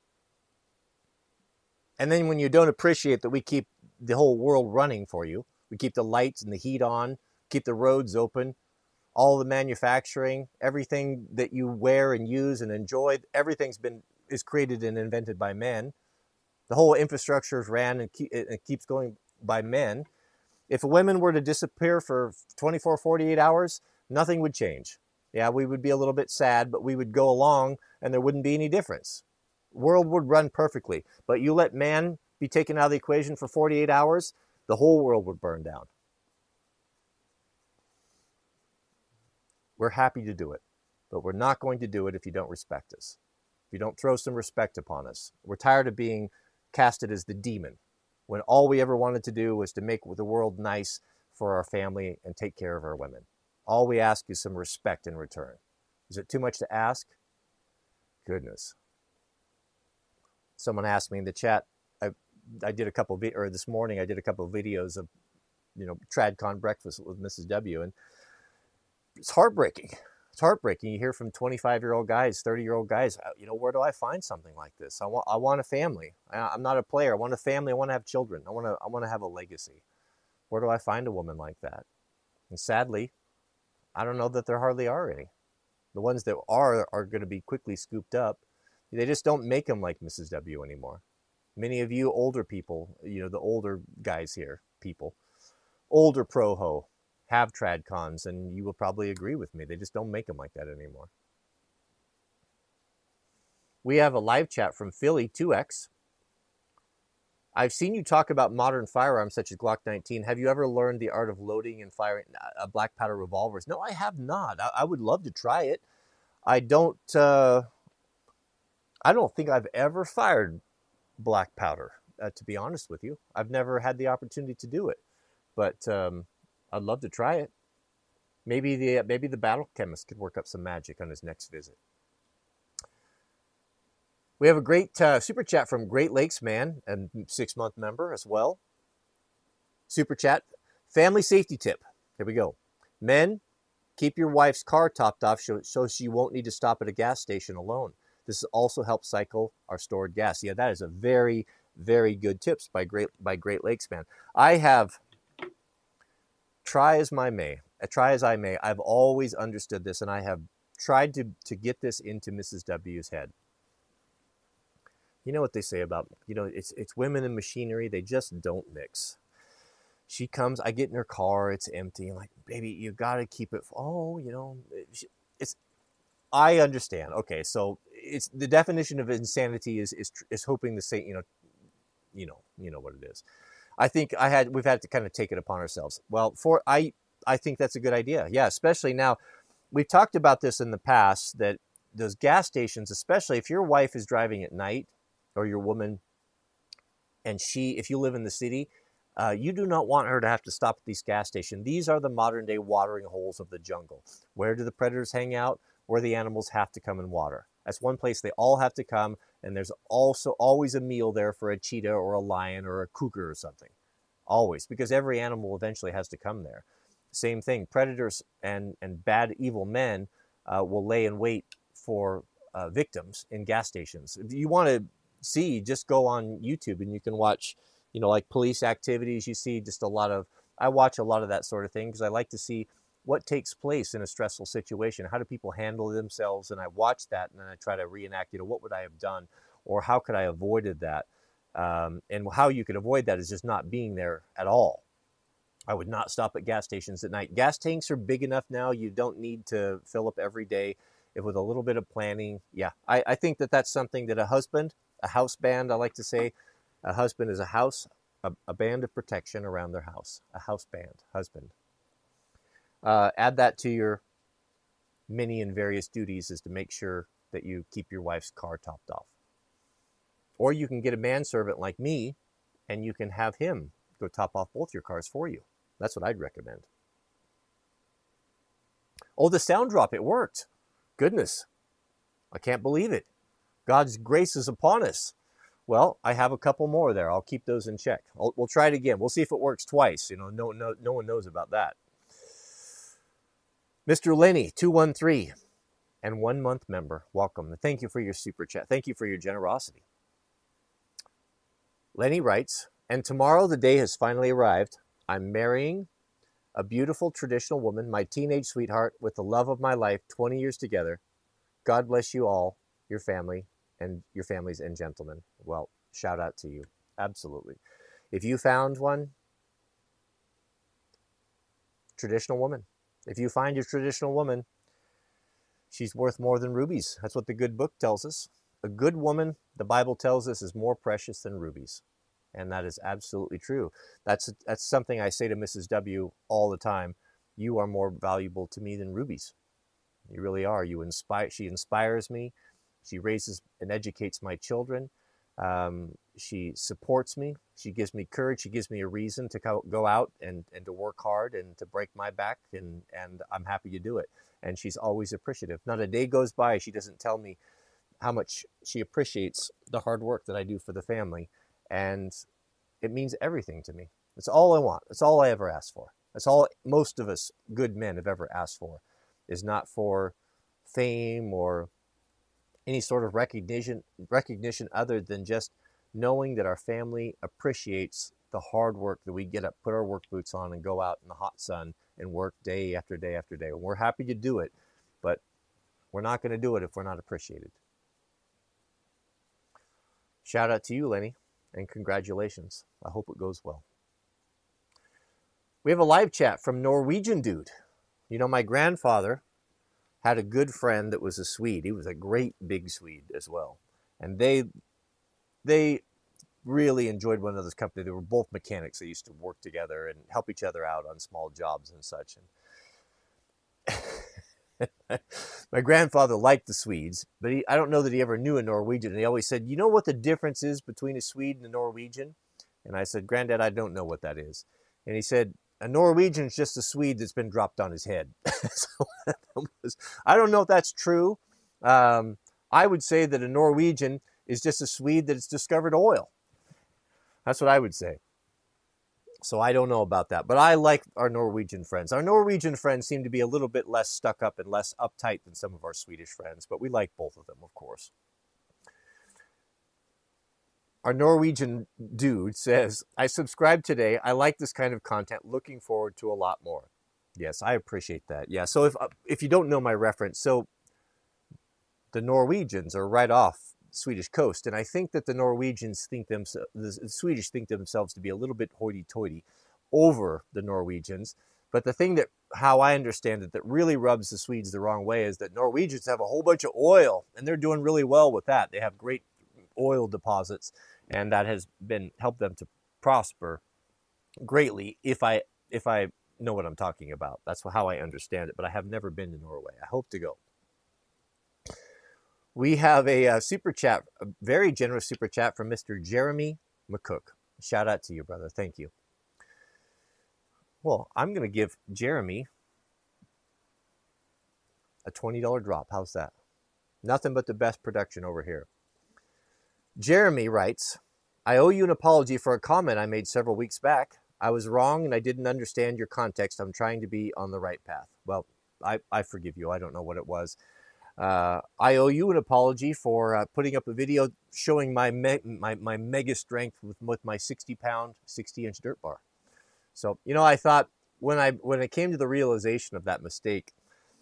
And then when you don't appreciate that we keep the whole world running for you, we keep the lights and the heat on, keep the roads open, all the manufacturing, everything that you wear and use and enjoy, everything's been is created and invented by men. The whole infrastructure is ran and keep, it keeps going by men. If women were to disappear for twenty-four, forty-eight hours, nothing would change. Yeah, we would be a little bit sad, but we would go along and there wouldn't be any difference. World would run perfectly. But you let man be taken out of the equation for forty-eight hours, the whole world would burn down. We're happy to do it, but we're not going to do it if you don't respect us, if you don't throw some respect upon us. We're tired of being casted as the demon when all we ever wanted to do was to make the world nice for our family and take care of our women. All we ask is some respect in return. Is it too much to ask? Goodness. Someone asked me in the chat, I, I did a couple of, or this morning I did a couple of videos of, you know, TradCon breakfast with Missus W, and it's heartbreaking. It's heartbreaking. You hear from twenty-five-year-old guys, thirty-year-old guys, you know, where do I find something like this? I want, I want a family. I, I'm not a player. I want a family. I want to have children. I want to, I want to have a legacy. Where do I find a woman like that? And sadly, I don't know that there hardly are any. The ones that are are going to be quickly scooped up. They just don't make them like Missus W anymore. Many of you older people, you know, the older guys here, people, older pro-ho, have TradCons, and you will probably agree with me. They just don't make them like that anymore. We have a live chat from Philly two X. I've seen you talk about modern firearms such as Glock nineteen. Have you ever learned the art of loading and firing uh, black powder revolvers? No, I have not. I, I would love to try it. I don't. Uh, I don't think I've ever fired black powder. Uh, to be honest with you, I've never had the opportunity to do it, but um, I'd love to try it. Maybe the maybe the battle chemist could work up some magic on his next visit. We have a great uh, super chat from Great Lakes Man, and six-month member as well. Super chat, family safety tip. Here we go. Men, keep your wife's car topped off so, so she won't need to stop at a gas station alone. This also helps cycle our stored gas. Yeah, that is a very, very good tips by Great by Great Lakes Man. I have, try as my may, try as I may, I've always understood this, and I have tried to, to get this into Missus W's head. You know what they say about, you know, it's it's women and machinery. They just don't mix. She comes, I get in her car, it's empty. I'm like, baby, you got to keep it. Oh, you know, it's, I understand. Okay, so it's the definition of insanity is is is hoping to say, you know, you know, you know what it is. I think I had we've had to kind of take it upon ourselves. Well, for I I think that's a good idea. Yeah, especially now. We've talked about this in the past that those gas stations, especially if your wife is driving at night, or your woman, and she, if you live in the city, uh, you do not want her to have to stop at these gas stations. These are the modern day watering holes of the jungle. Where do the predators hang out? Where the animals have to come and water. That's one place they all have to come, and there's also always a meal there for a cheetah or a lion or a cougar or something. Always, because every animal eventually has to come there. same thing. Predators and, and bad, evil men uh, will lay in wait for uh, victims in gas stations. If you want to see, just go on YouTube and you can watch, you know, like police activities. You see just a lot of, I watch a lot of that sort of thing because I like to see what takes place in a stressful situation. How do people handle themselves? And I watch that and then I try to reenact, you know, what would I have done or how could I have avoided that? Um, and how you could avoid that is just not being there at all. I would not stop at gas stations at night. Gas tanks are big enough now. You don't need to fill up every day. If with a little bit of planning, yeah, I, I think that that's something that a husband, a house band, I like to say, a husband is a house, a, a band of protection around their house, a house band, husband. Uh, add that to your many and various duties is to make sure that you keep your wife's car topped off. Or you can get a manservant like me and you can have him go top off both your cars for you. That's what I'd recommend. Oh, the sound drop, it worked. Goodness, I can't believe it. God's grace is upon us. Well, I have a couple more there. I'll keep those in check. I'll, we'll try it again. We'll see if it works twice. You know, no, no, no one knows about that. Mister Lenny, two one three, and one month member. Welcome. Thank you for your super chat. Thank you for your generosity. Lenny writes, and tomorrow the day has finally arrived. I'm marrying a beautiful traditional woman, my teenage sweetheart, with the love of my life, twenty years together. God bless you all, your family, and your families and gentlemen. Well, shout out to you. Absolutely. If you found one, traditional woman. If you find your traditional woman, she's worth more than rubies. That's what the good book tells us. A good woman, the Bible tells us, is more precious than rubies. And that is absolutely true. That's that's something I say to Missus W all the time. You are more valuable to me than rubies. You really are. You inspire. She inspires me. She raises and educates my children. Um, she supports me. She gives me courage. She gives me a reason to go out and, and to work hard and to break my back. And, and I'm happy to do it. And she's always appreciative. Not a day goes by she doesn't tell me how much she appreciates the hard work that I do for the family. And it means everything to me. It's all I want. It's all I ever ask for. That's all most of us good men have ever asked for, is not for fame or any sort of recognition recognition other than just knowing that our family appreciates the hard work that we get up, put our work boots on and go out in the hot sun and work day after day after day. And we're happy to do it, but we're not going to do it if we're not appreciated. Shout out to you, Lenny, and congratulations. I hope it goes well. We have a live chat from Norwegian Dude. You know, my grandfather had a good friend that was a Swede. He was a great big Swede as well. And they they really enjoyed one another's company. They were both mechanics. They used to work together and help each other out on small jobs and such. And my grandfather liked the Swedes, but he, I don't know that he ever knew a Norwegian. And he always said, you know what the difference is between a Swede and a Norwegian? And I said, Granddad, I don't know what that is. And he said, a Norwegian is just a Swede that's been dropped on his head. So was, I don't know if that's true. Um, I would say that a Norwegian is just a Swede that's discovered oil. That's what I would say. So I don't know about that. But I like our Norwegian friends. Our Norwegian friends seem to be a little bit less stuck up and less uptight than some of our Swedish friends. But we like both of them, of course. Our Norwegian dude says, I subscribed today. I like this kind of content. Looking forward to a lot more. Yes, I appreciate that. Yeah, so if if you don't know my reference, so the Norwegians are right off the Swedish coast. And I think that the Norwegians think themselves, the Swedish think themselves to be a little bit hoity-toity over the Norwegians. But the thing that, how I understand it, that really rubs the Swedes the wrong way is that Norwegians have a whole bunch of oil. And they're doing really well with that. They have great oil deposits. And that has been helped them to prosper greatly, if I if I know what I'm talking about. That's how I understand it. But I have never been to Norway. I hope to go. We have a, a super chat, a very generous super chat from Mister Jeremy McCook. Shout out to you, brother. Thank you. Well, I'm going to give Jeremy a twenty dollar drop. How's that? Nothing but the best production over here. Jeremy writes, I owe you an apology for a comment I made several weeks back. I was wrong and I didn't understand your context. I'm trying to be on the right path. Well, I, I forgive you. I don't know what it was. Uh, I owe you an apology for uh, putting up a video showing my, me my, my mega strength with, with my sixty pound, sixty inch dirt bar. So, you know, I thought when I, when I came to the realization of that mistake,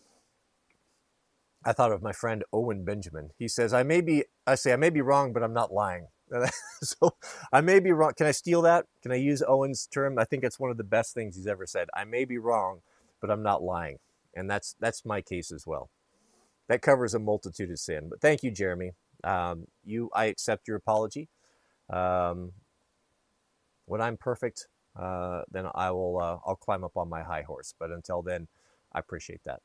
I thought of my friend Owen Benjamin. He says, I may be, I say, I may be wrong, but I'm not lying. So I may be wrong. Can I steal that? Can I use Owen's term? I think it's one of the best things he's ever said. I may be wrong, but I'm not lying. And that's, that's my case as well. That covers a multitude of sin. But thank you, Jeremy. Um, you, I accept your apology. Um, when I'm perfect, uh, then I will, uh, I'll climb up on my high horse. But until then, I appreciate that.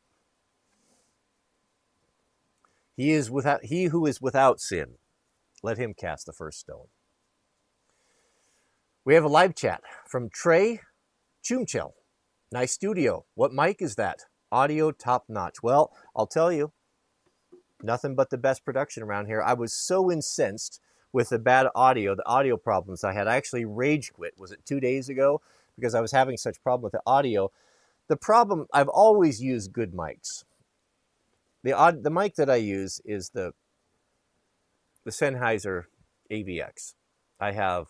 He is without, he who is without sin, let him cast the first stone. We have a live chat from Trey Chumchel. Nice studio. What mic is that? Audio top notch. Well, I'll tell you, nothing but the best production around here. I was so incensed with the bad audio, the audio problems I had. I actually rage quit. Was it two days ago? Because I was having such problem with the audio. The problem, I've always used good mics. The odd, the mic that I use is the the Sennheiser A V X. I have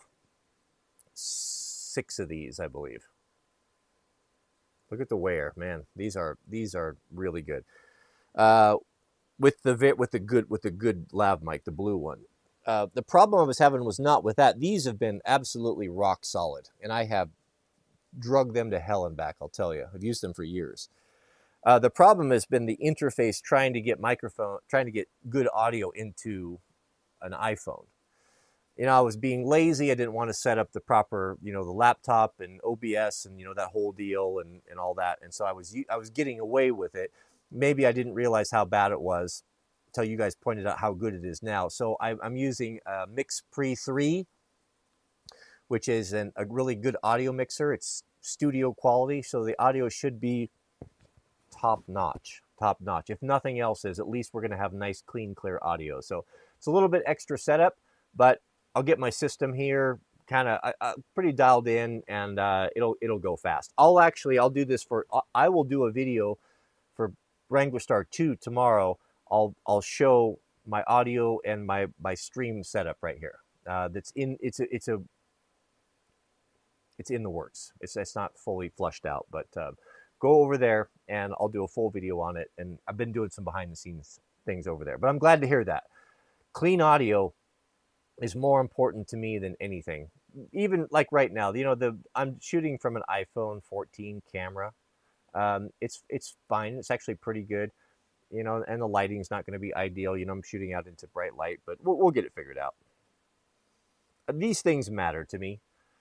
six of these, I believe. Look at the wear, man. These are these are really good. Uh, with the with the good with the good lav mic, the blue one. Uh, the problem I was having was not with that. These have been absolutely rock solid, and I have drugged them to hell and back. I'll tell you, I've used them for years. Uh, the problem has been the interface trying to get microphone, trying to get good audio into an iPhone. You know, I was being lazy. I didn't want to set up the proper, you know, the laptop and O B S and, you know, that whole deal and, and all that. And so I was, I was getting away with it. Maybe I didn't realize how bad it was until you guys pointed out how good it is now. So I, I'm using a MixPre three, which is an, a really good audio mixer. It's studio quality. So the audio should be top notch, top notch. If nothing else is, at least we're going to have nice, clean, clear audio. So it's a little bit extra setup, but I'll get my system here kind of uh, pretty dialed in, and uh, it'll it'll go fast. I'll actually I'll do this for I will do a video for Wrangler Star two tomorrow. I'll I'll show my audio and my my stream setup right here. Uh, that's in it's a it's a it's in the works. It's it's not fully flushed out, but uh, go over there and I'll do a full video on it. And I've been doing some behind the scenes things over there. But I'm glad to hear that. Clean audio is more important to me than anything. Even like right now, you know, the I'm shooting from an iPhone fourteen camera. Um, it's it's fine. It's actually pretty good, you know, and the lighting's not going to be ideal. You know, I'm shooting out into bright light, but we'll, we'll get it figured out. These things matter to me.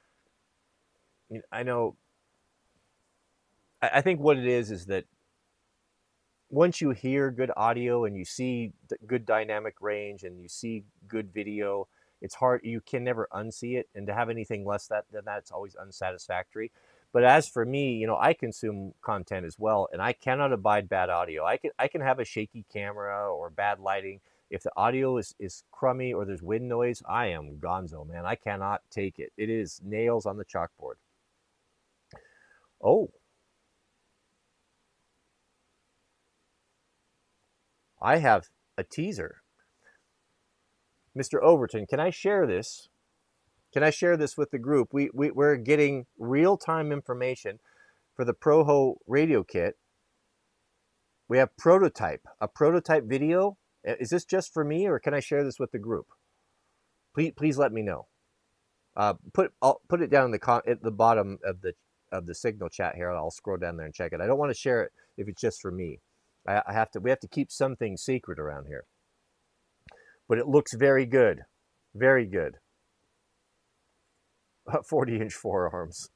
I know. I think what it is is that once you hear good audio and you see good dynamic range and you see good video, it's hard. You can never unsee it. And to have anything less that, than that, it's always unsatisfactory. But as for me, you know, I consume content as well, and I cannot abide bad audio. I can I can have a shaky camera or bad lighting. If the audio is, is crummy or there's wind noise, I am gonzo, man. I cannot take it. It is nails on the chalkboard. Oh. I have a teaser. Mister Overton, can I share this? Can I share this with the group? We, we, we're getting real-time information for the Proho radio kit. We have prototype, a prototype video. Is this just for me, or can I share this with the group? Please, please let me know. Uh, put I'll put it down in the con at the bottom of the of the Signal chat here. I'll scroll down there and check it. I don't want to share it if it's just for me. I, I have to. We have to keep some things secret around here. But it looks very good, very good. forty inch forearms.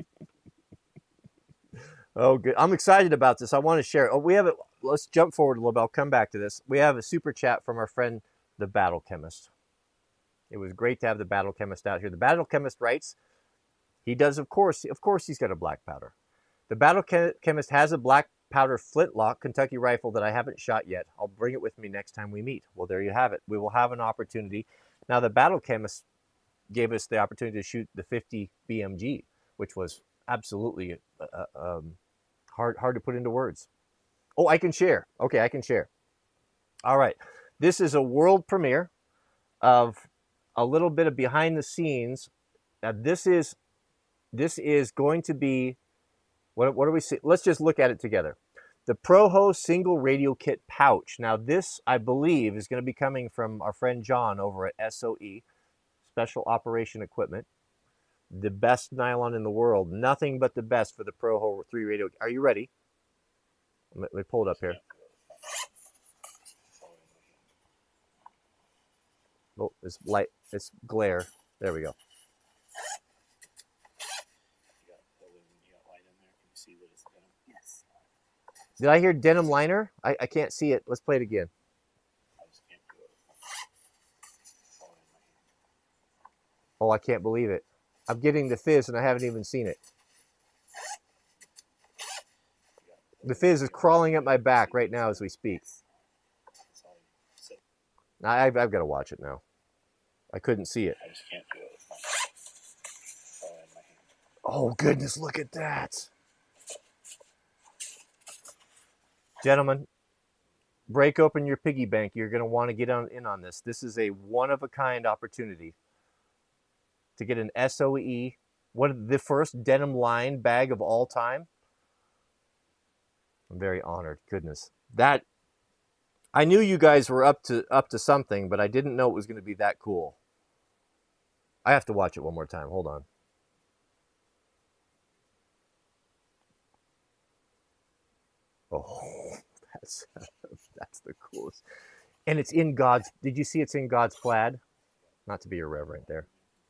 Oh, good. I'm excited about this. I want to share it. Oh, we have it. Let's jump forward a little bit. I'll come back to this. We have a super chat from our friend, the Battle Chemist. It was great to have the Battle Chemist out here. The Battle Chemist writes, he does, of course, of course he's got a black powder. The Battle Chemist has a black powder flintlock Kentucky rifle that I haven't shot yet. I'll bring it with me next time we meet. Well, there you have it. We will have an opportunity. Now, the Battle Chemist gave us the opportunity to shoot the fifty B M G. which was absolutely uh, um, hard hard to put into words. Oh, I can share. Okay, I can share. All right, this is a world premiere of a little bit of behind the scenes. Now, this is this is going to be what what do we see? Let's just look at it together. The Proho single radio kit pouch. Now, this I believe is going to be coming from our friend John over at S O E, Special Operation Equipment. The best nylon in the world. Nothing but the best for the Proho three radio. Are you ready? Let me pull it up here. Oh, it's light. It's glare. There we go. Yes. Did I hear denim liner? I, I can't see it. Let's play it again. Oh, I can't believe it. I'm getting the fizz and I haven't even seen it. The fizz is crawling up my back right now as we speak. Now, I've, I've got to watch it now. I couldn't see it. I just can't do it with my phone in my hand. Oh, goodness, look at that. Gentlemen, break open your piggy bank. You're going to want to get on, in on this. This is a one-of-a-kind opportunity to get an S O E, what the first denim line bag of all time. I'm very honored. Goodness. That, I knew you guys were up to up to something, but I didn't know it was going to be that cool. I have to watch it one more time. Hold on. Oh, that's that's the coolest. And it's in God's, did you see it's in God's plaid? Not to be irreverent there.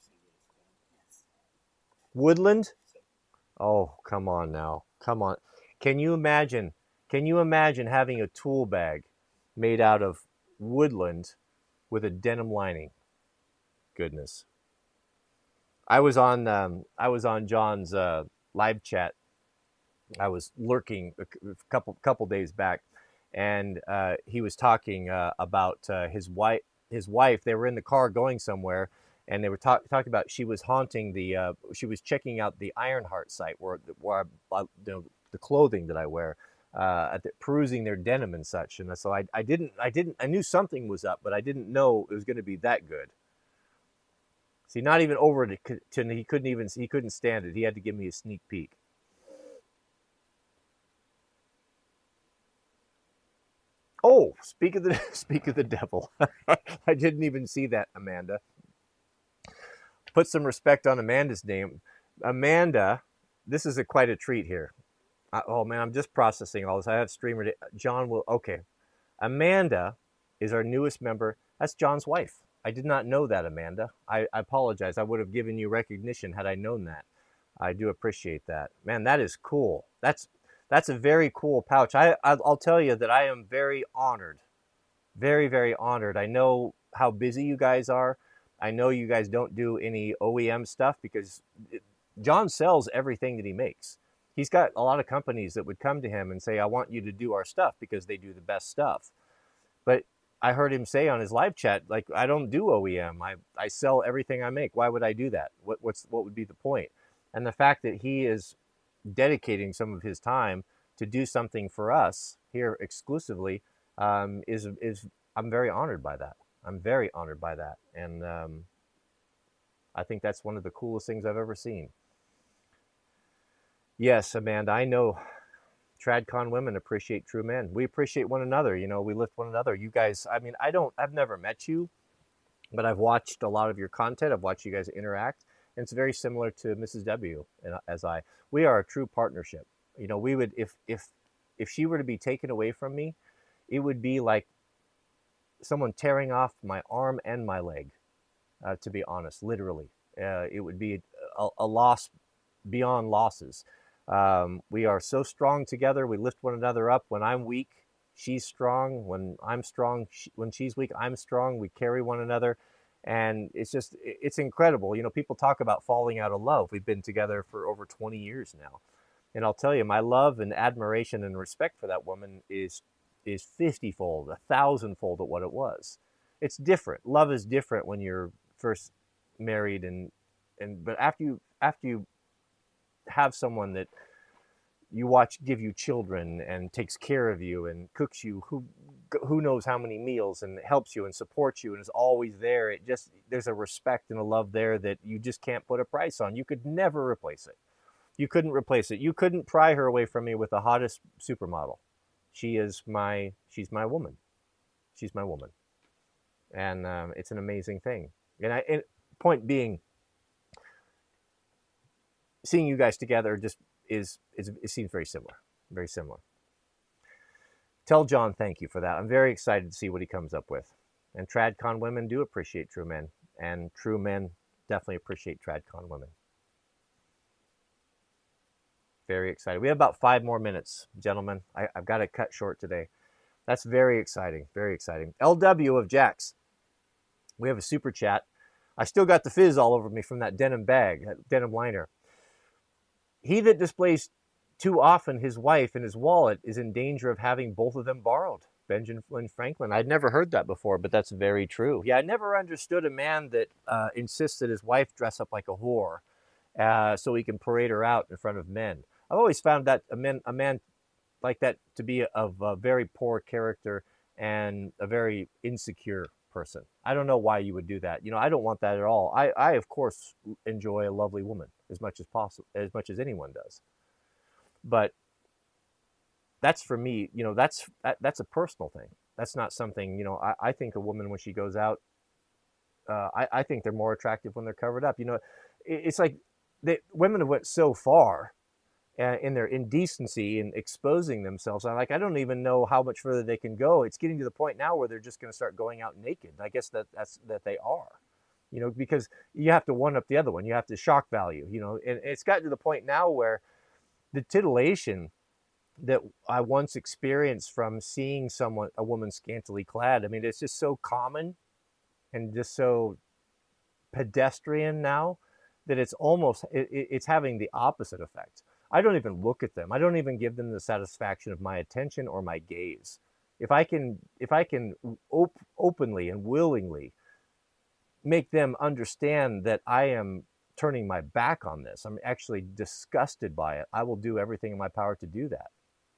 Woodland? Oh, come on now. Come on. Can you imagine, can you imagine having a tool bag made out of woodland with a denim lining? Goodness. I was on um, I was on John's uh, live chat. I was lurking a couple couple days back, and uh, he was talking uh, about uh, his wife. His wife. They were in the car going somewhere, and they were talk, talking about she was haunting the. Uh, she was checking out the Ironheart site where where I, you know, the clothing that I wear, uh, at the, perusing their denim and such. And so I I didn't I didn't I knew something was up, but I didn't know it was going to be that good. See, not even over to, to he couldn't even he couldn't stand it. He had to give me a sneak peek. Oh, speak of the speak of the devil. I didn't even see that, Amanda. Put some respect on Amanda's name. Amanda, this is a quite a treat here. I, oh man, I'm just processing all this. I have streamer. John will. Okay, Amanda is our newest member. That's John's wife. I did not know that, Amanda. I, I apologize. I would have given you recognition had I known that. I do appreciate that. Man, that is cool. That's that's a very cool pouch. I, I'll tell you that I am very honored. Very, very honored. I know how busy you guys are. I know you guys don't do any O E M stuff because John sells everything that he makes. He's got a lot of companies that would come to him and say, I want you to do our stuff because they do the best stuff. But I heard him say on his live chat, like, I don't do O E M. I, I sell everything I make. Why would I do that? What, what's, what would be the point? And the fact that he is dedicating some of his time to do something for us here exclusively um, is, is, I'm very honored by that. I'm very honored by that. And um, I think that's one of the coolest things I've ever seen. Yes, Amanda, I know TradCon women appreciate true men. We appreciate one another. You know, we lift one another. You guys, I mean, I don't, I've never met you, but I've watched a lot of your content. I've watched you guys interact. And it's very similar to Missus W and as I. We are a true partnership. You know, we would, if, if, if she were to be taken away from me, it would be like someone tearing off my arm and my leg, uh, to be honest, literally. Uh, it would be a, a loss beyond losses. Um, we are so strong together. We lift one another up. When I'm weak, she's strong. When I'm strong, she, when she's weak, I'm strong. We carry one another. And it's just, it's incredible. You know, people talk about falling out of love. We've been together for over twenty years now. And I'll tell you, my love and admiration and respect for that woman is is fifty-fold, a thousand-fold of what it was. It's different. Love is different when you're first married and, and but after you, after you have someone that you watch give you children and takes care of you and cooks you who who knows how many meals and helps you and supports you and is always there, it just, there's a respect and a love there that you just can't put a price on. You could never replace it. You couldn't replace it. You couldn't pry her away from me with the hottest supermodel. She is my, she's my woman. She's my woman. And um, it's an amazing thing. And I, and point being, seeing you guys together just is, is, it seems very similar, very similar. Tell John thank you for that. I'm very excited to see what he comes up with. And TradCon women do appreciate true men, and true men definitely appreciate TradCon women. Very excited. We have about five more minutes, gentlemen. I, I've got to cut short today. That's very exciting, very exciting. L W of Jax, we have a super chat. I still got the fizz all over me from that denim bag, that denim liner. He that displays too often his wife and his wallet is in danger of having both of them borrowed. Benjamin Franklin. I'd never heard that before, but that's very true. Yeah, I never understood a man that uh, insists that his wife dress up like a whore uh, so he can parade her out in front of men. I've always found that a man, a man like that to be of a very poor character and a very insecure person. I don't know why you would do that. You know, I don't want that at all. I, I of course, enjoy a lovely woman as much as possible, as much as anyone does. But that's for me, you know, that's that, that's a personal thing. That's not something, you know, I, I think a woman when she goes out, uh, I, I think they're more attractive when they're covered up. You know, it, it's like they, women have went so far uh, in their indecency and exposing themselves. I'm like, I don't even know how much further they can go. It's getting to the point now where they're just going to start going out naked. I guess that that's that they are, you know, because you have to one up the other one. You have to shock value, you know, and it's gotten to the point now where the titillation that I once experienced from seeing someone, a woman scantily clad, I mean, it's just so common and just so pedestrian now that it's almost, it, it's having the opposite effect. I don't even look at them. I don't even give them the satisfaction of my attention or my gaze. If I can, if I can op openly and willingly make them understand that I am turning my back on this, I'm actually disgusted by it, I will do everything in my power to do that.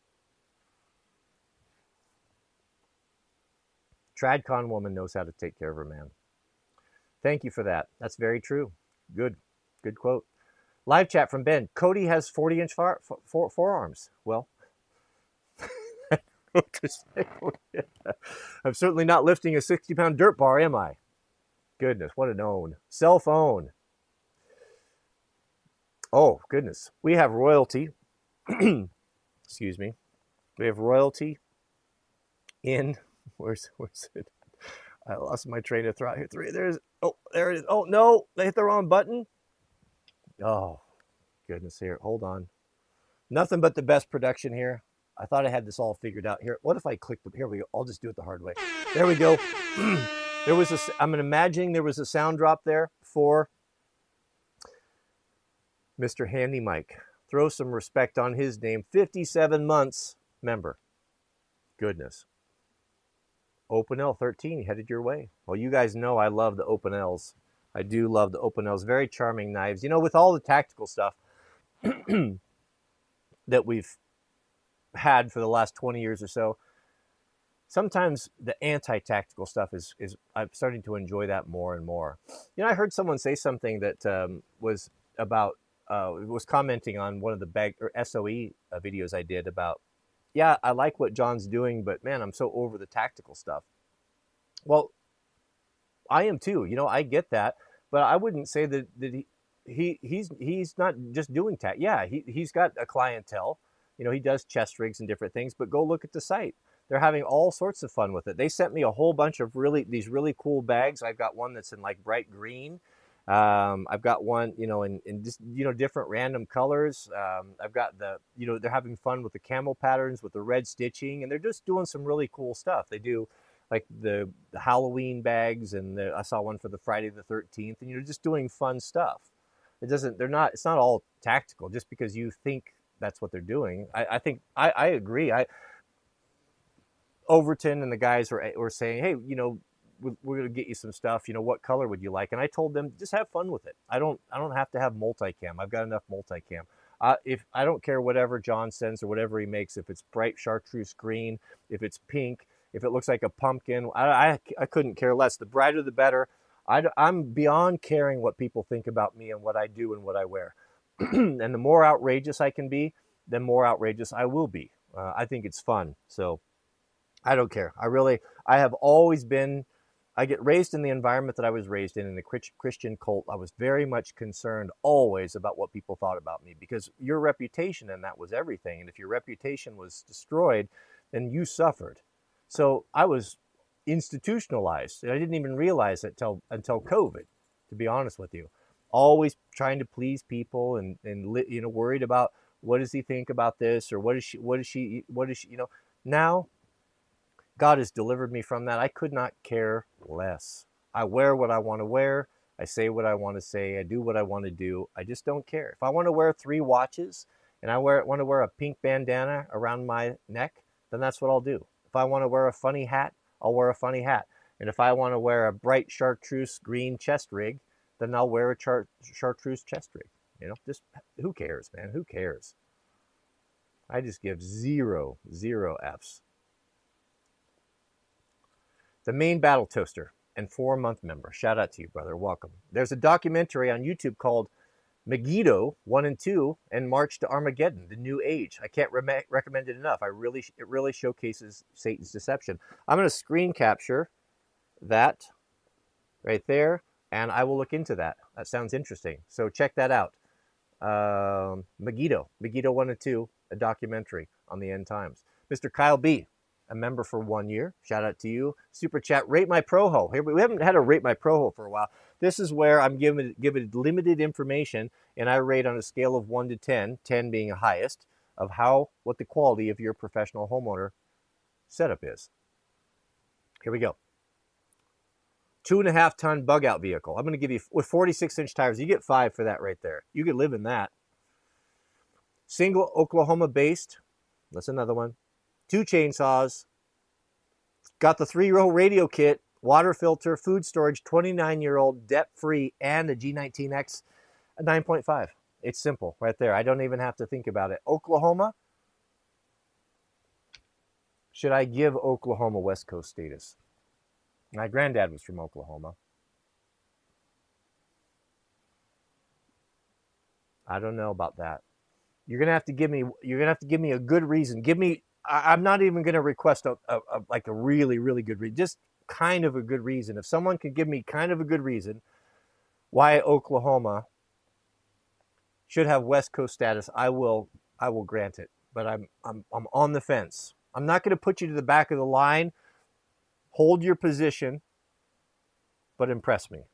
TradCon woman knows how to take care of her man. Thank you for that. That's very true. Good, good quote. Live chat from Ben. Cody has forty inch far, for, forearms. Well, I'm certainly not lifting a sixty pound dirt bar, am I? Goodness, what an own. Cell phone. Oh, goodness. We have royalty. Excuse me. We have royalty in, where's, where's it? I lost my train of thought here. Three, there's, oh, there it is. Oh, no, they hit the wrong button. Oh, goodness here. Hold on. Nothing but the best production here. I thought I had this all figured out here. What if I clicked the, here we go. I'll just do it the hard way. There we go. There was a, I'm imagining there was a sound drop there for Mister Handy Mike. Throw some respect on his name. fifty-seven months member. Goodness. Open L thirteen headed your way. Well, you guys know I love the Open L's. I do love the Open L's. Very charming knives. You know, with all the tactical stuff that we've had for the last twenty years or so, sometimes the anti-tactical stuff is, is I'm starting to enjoy that more and more. You know, I heard someone say something that um, was about, uh, was commenting on one of the bag or S O E uh, videos I did about, yeah, I like what John's doing, but man, I'm so over the tactical stuff. Well, I am too. You know, I get that, but I wouldn't say that, that he, he he's he's not just doing tac. Yeah, he he's got a clientele. You know, he does chest rigs and different things. But go look at the site. They're having all sorts of fun with it. They sent me a whole bunch of really these really cool bags. I've got one that's in like bright green. Um, I've got one, you know, in, in just, you know, different random colors. Um, I've got the, you know, they're having fun with the camel patterns, with the red stitching, and they're just doing some really cool stuff. They do like the, the Halloween bags, and the, I saw one for the Friday the thirteenth, and you're just doing fun stuff. It doesn't, they're not, it's not all tactical just because you think that's what they're doing. I, I think, I, I agree. I, Overton and the guys were, were saying, hey, you know, we're, we're going to get you some stuff. You know, what color would you like? And I told them, just have fun with it. I don't, I don't have to have multicam. I've got enough multicam. Uh, if I don't care whatever John sends or whatever he makes, if it's bright chartreuse green, if it's pink, if it looks like a pumpkin, I, I, I couldn't care less. The brighter, the better. I, I'm beyond caring what people think about me and what I do and what I wear. And the more outrageous I can be, the more outrageous I will be. Uh, I think it's fun. So I don't care. I really, I have always been, I get raised in the environment that I was raised in, in the Christian cult. I was very much concerned always about what people thought about me, because your reputation and that was everything. And if your reputation was destroyed, then you suffered. So I was institutionalized. I didn't even realize it until, until COVID, to be honest with you. Always trying to please people and, and, you know, worried about what does he think about this, or what is she, what is she, what is she, you know, now God has delivered me from that. I could not care less. I wear what I want to wear. I say what I want to say. I do what I want to do. I just don't care. If I want to wear three watches and I wear, want to wear a pink bandana around my neck, then that's what I'll do. If I want to wear a funny hat, I'll wear a funny hat. And if I want to wear a bright chartreuse green chest rig, then I'll wear a char- chartreuse chest rig. You know, just who cares, man? Who cares? I just give zero, zero Fs. The Main Battle Toaster and four-month member. Shout out to you, brother. Welcome. There's a documentary on YouTube called Megiddo one and two and March to Armageddon, the New Age. I can't re- recommend it enough. I really, it really showcases Satan's deception. I'm going to screen capture that right there, and I will look into that. That sounds interesting. So check that out. Um, Megiddo, Megiddo one and two, a documentary on the end times. Mister Kyle B, a member for one year. Shout out to you. Super chat, Rate My Proho. Here, we haven't had a Rate My Proho for a while. This is where I'm giving, giving limited information, and I rate on a scale of one to ten, ten being the highest, of how, what the quality of your professional homeowner setup is. Here we go. Two and a half ton bug out vehicle. I'm going to give you, with forty-six inch tires, you get five for that right there. You could live in that. Single Oklahoma based. That's another one. Two chainsaws. Got the three-row radio kit, water filter, food storage, twenty-nine year old, debt free, and a G nineteen X, a nine point five. It's simple right there. I don't even have to think about it. Oklahoma. Should I give Oklahoma West Coast status? My granddad was from Oklahoma. I don't know about that. You're gonna have to give me. You're gonna have to give me a good reason. Give me. I, I'm not even gonna request a, a, a like a really, really good reason. Just kind of a good reason. If someone could give me kind of a good reason why Oklahoma should have West Coast status, I will. I will grant it. But I'm. I'm. I'm on the fence. I'm not gonna put you to the back of the line. Hold your position, but impress me.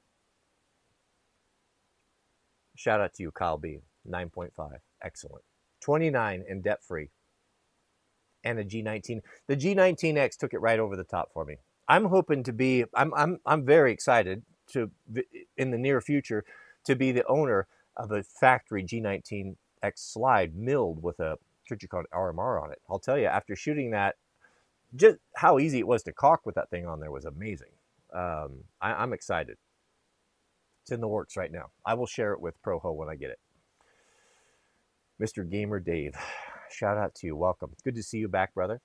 Shout out to you, Kyle B. nine point five. Excellent. twenty-nine and debt-free. And a G nineteen. The G nineteen X took it right over the top for me. I'm hoping to be, I'm I'm I'm very excited to, in the near future, to be the owner of a factory G nineteen X slide milled with a Trijicon R M R on it. I'll tell you, after shooting that, just how easy it was to caulk with that thing on there was amazing. Um, I, I'm excited. It's in the works right now. I will share it with Proho when I get it. Mister Gamer Dave, shout out to you. Welcome. Good to see you back, brother.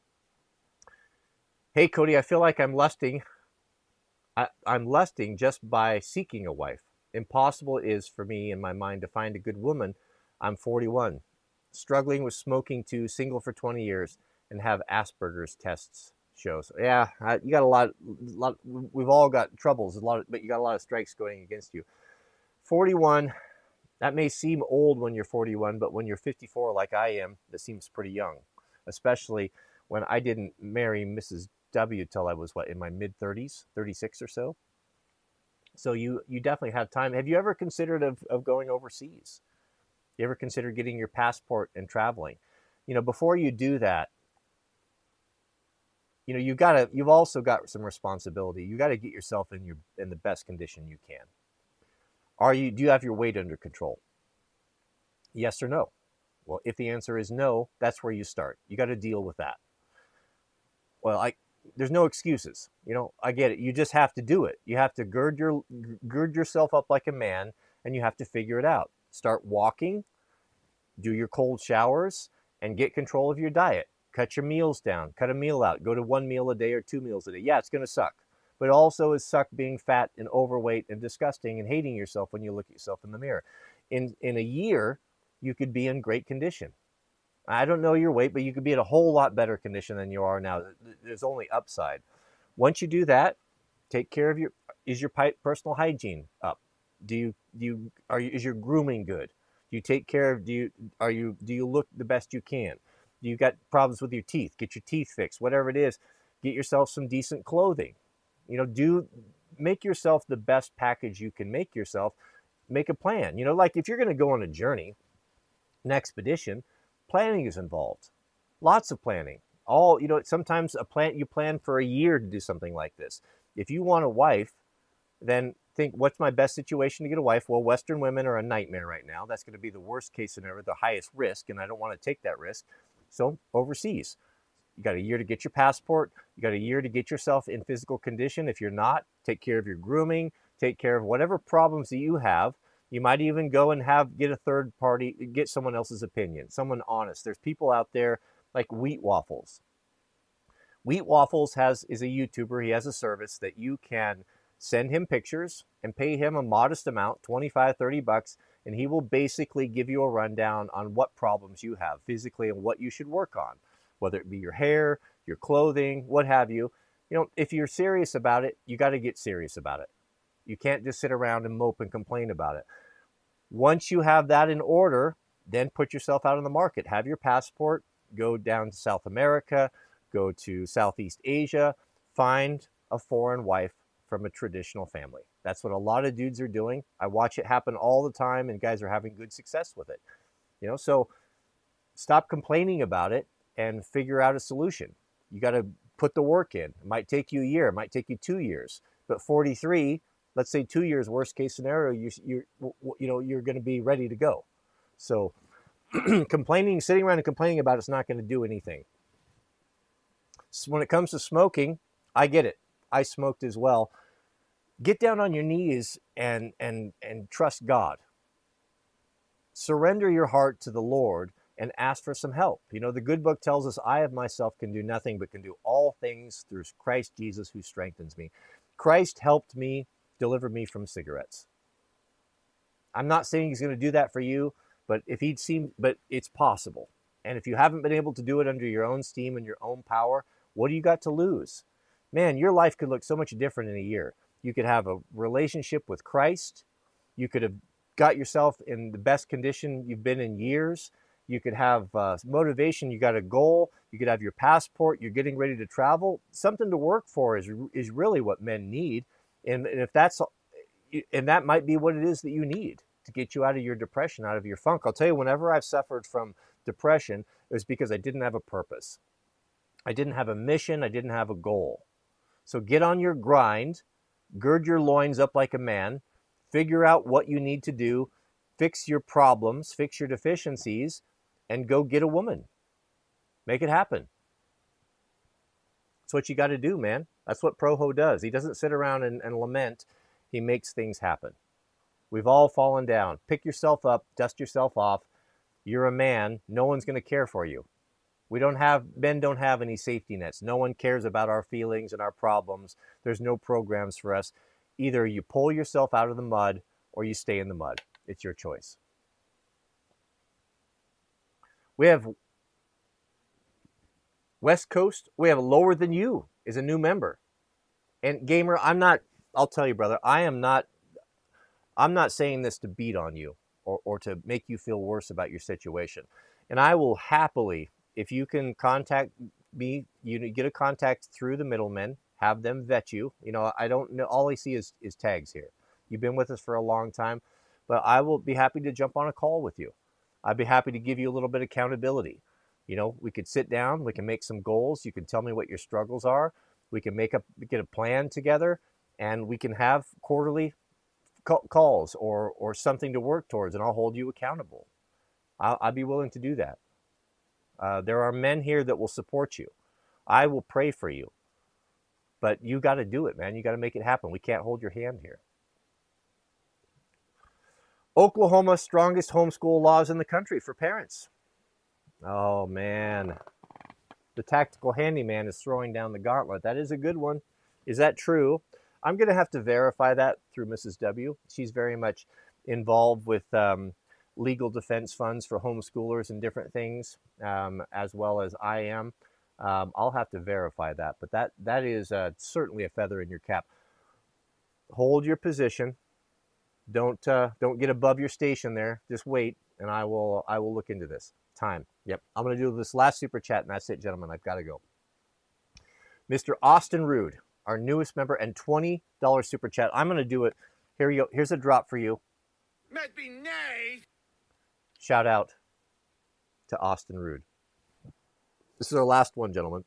Hey, Cody, I feel like I'm lusting. I, I'm lusting just by seeking a wife. Impossible is for me in my mind to find a good woman. I'm forty-one, struggling with smoking too, single for twenty years, and have Asperger's tests show. So yeah, I, you got a lot, lot. We've all got troubles, a lot, of, but you got a lot of strikes going against you. forty-one. That may seem old when you're forty-one, but when you're fifty-four, like I am, that seems pretty young. Especially when I didn't marry Missus W till I was what, in my mid thirties, thirty-six or so. So you you definitely have time. Have you ever considered of, of going overseas? You ever considered getting your passport and traveling? You know, before you do that, you know, you gotta, you've also got some responsibility. You got to get yourself in your, in the best condition you can. Are you, do you have your weight under control? Yes or no? Well, if the answer is no, that's where you start. You got to deal with that. Well, I, there's no excuses. You know, I get it. You just have to do it. You have to gird your, gird yourself up like a man, and you have to figure it out. Start walking, do your cold showers and get control of your diet. Cut your meals down, cut a meal out, go to one meal a day or two meals a day. Yeah, it's going to suck, but it also is suck being fat and overweight and disgusting and hating yourself when you look at yourself in the mirror. In, in a year, you could be in great condition. I don't know your weight, but you could be in a whole lot better condition than you are now. There's only upside. Once you do that, take care of your, is your personal hygiene up? Do you, do you, are you, is your grooming good? Do you take care of, do you, are you, do you look the best you can? Do you got problems with your teeth? Get your teeth fixed, whatever it is. Get yourself some decent clothing. You know, do, make yourself the best package you can make yourself. Make a plan. You know, like if you're going to go on a journey, an expedition, planning is involved. Lots of planning. All, you know, sometimes a plan, you plan for a year to do something like this. If you want a wife, then think, what's my best situation to get a wife? Well, Western women are a nightmare right now. That's going to be the worst case scenario, the highest risk, and I don't want to take that risk. So overseas, you got a year to get your passport. You got a year to get yourself in physical condition. If you're not, take care of your grooming, take care of whatever problems that you have. You might even go and have, get a third party, get someone else's opinion, someone honest. There's people out there like Wheat Waffles. Wheat Waffles has, is a YouTuber. He has a service that you can send him pictures and pay him a modest amount, twenty-five, thirty bucks, and he will basically give you a rundown on what problems you have physically and what you should work on, whether it be your hair, your clothing, what have you. You know, if you're serious about it, you got to get serious about it. You can't just sit around and mope and complain about it. Once you have that in order, then put yourself out on the market. Have your passport, go down to South America, go to Southeast Asia, find a foreign wife from a traditional family. That's what a lot of dudes are doing. I watch it happen all the time, and guys are having good success with it. You know, so stop complaining about it and figure out a solution. You got to put the work in. It might take you a year, it might take you two years, but forty-three, let's say two years, worst case scenario, you you you know, you're going to be ready to go. So complaining, sitting around and complaining about it's not going to do anything. So when it comes to smoking, I get it. I smoked as well. Get down on your knees and and and trust God. Surrender your heart to the Lord and ask for some help. You know, the good book tells us, I of myself can do nothing, but can do all things through Christ Jesus who strengthens me. Christ helped me, delivered me from cigarettes. I'm not saying he's going to do that for you, but if he'd seen, but it's possible. And if you haven't been able to do it under your own steam and your own power, what do you got to lose? Man, your life could look so much different in a year. You could have a relationship with Christ. You could have got yourself in the best condition you've been in years. You could have uh, motivation. You got a goal. You could have your passport. You're getting ready to travel. Something to work for is is really what men need. And, and if that's, and that might be what it is that you need to get you out of your depression, out of your funk. I'll tell you, whenever I've suffered from depression, it was because I didn't have a purpose. I didn't have a mission. I didn't have a goal. So get on your grind, gird your loins up like a man, figure out what you need to do, fix your problems, fix your deficiencies, and go get a woman. Make it happen. That's what you got to do, man. That's what Proho does. He doesn't sit around and, and lament. He makes things happen. We've all fallen down. Pick yourself up, dust yourself off. You're a man. No one's going to care for you. We don't have, men don't have any safety nets. No one cares about our feelings and our problems. There's no programs for us. Either you pull yourself out of the mud or you stay in the mud. It's your choice. We have West Coast. We have Lower Than You is a new member. And Gamer, I'm not, I'll tell you, brother, I am not, I'm not saying this to beat on you or, or to make you feel worse about your situation. And I will happily, if you can contact me, you get a contact through the middlemen, have them vet you. You know, I don't know, all I see is, is tags here. You've been with us for a long time, but I will be happy to jump on a call with you. I'd be happy to give you a little bit of accountability. You know, we could sit down, we can make some goals. You can tell me what your struggles are. We can make up, get a plan together, and we can have quarterly calls or, or something to work towards, and I'll hold you accountable. I'll, I'd be willing to do that. Uh, there are men here that will support you. I will pray for you. But you got to do it, man. You got to make it happen. We can't hold your hand here. Oklahoma, strongest homeschool laws in the country for parents. Oh, man. The tactical handyman is throwing down the gauntlet. That is a good one. Is that true? I'm going to have to verify that through Missus W. She's very much involved with um, legal defense funds for homeschoolers and different things, um, as well as I am. Um, I'll have to verify that, but that that is uh, certainly a feather in your cap. Hold your position. Don't uh, don't get above your station there. Just wait, and I will I will look into this. Time. Yep. I'm going to do this last super chat, and that's it, gentlemen. I've got to go. Mister Austin Rude, our newest member, and twenty dollars super chat. I'm going to do it. Here you go. Here's a drop for you. Must be nice. Shout out to Austin Rude. This is our last one, gentlemen.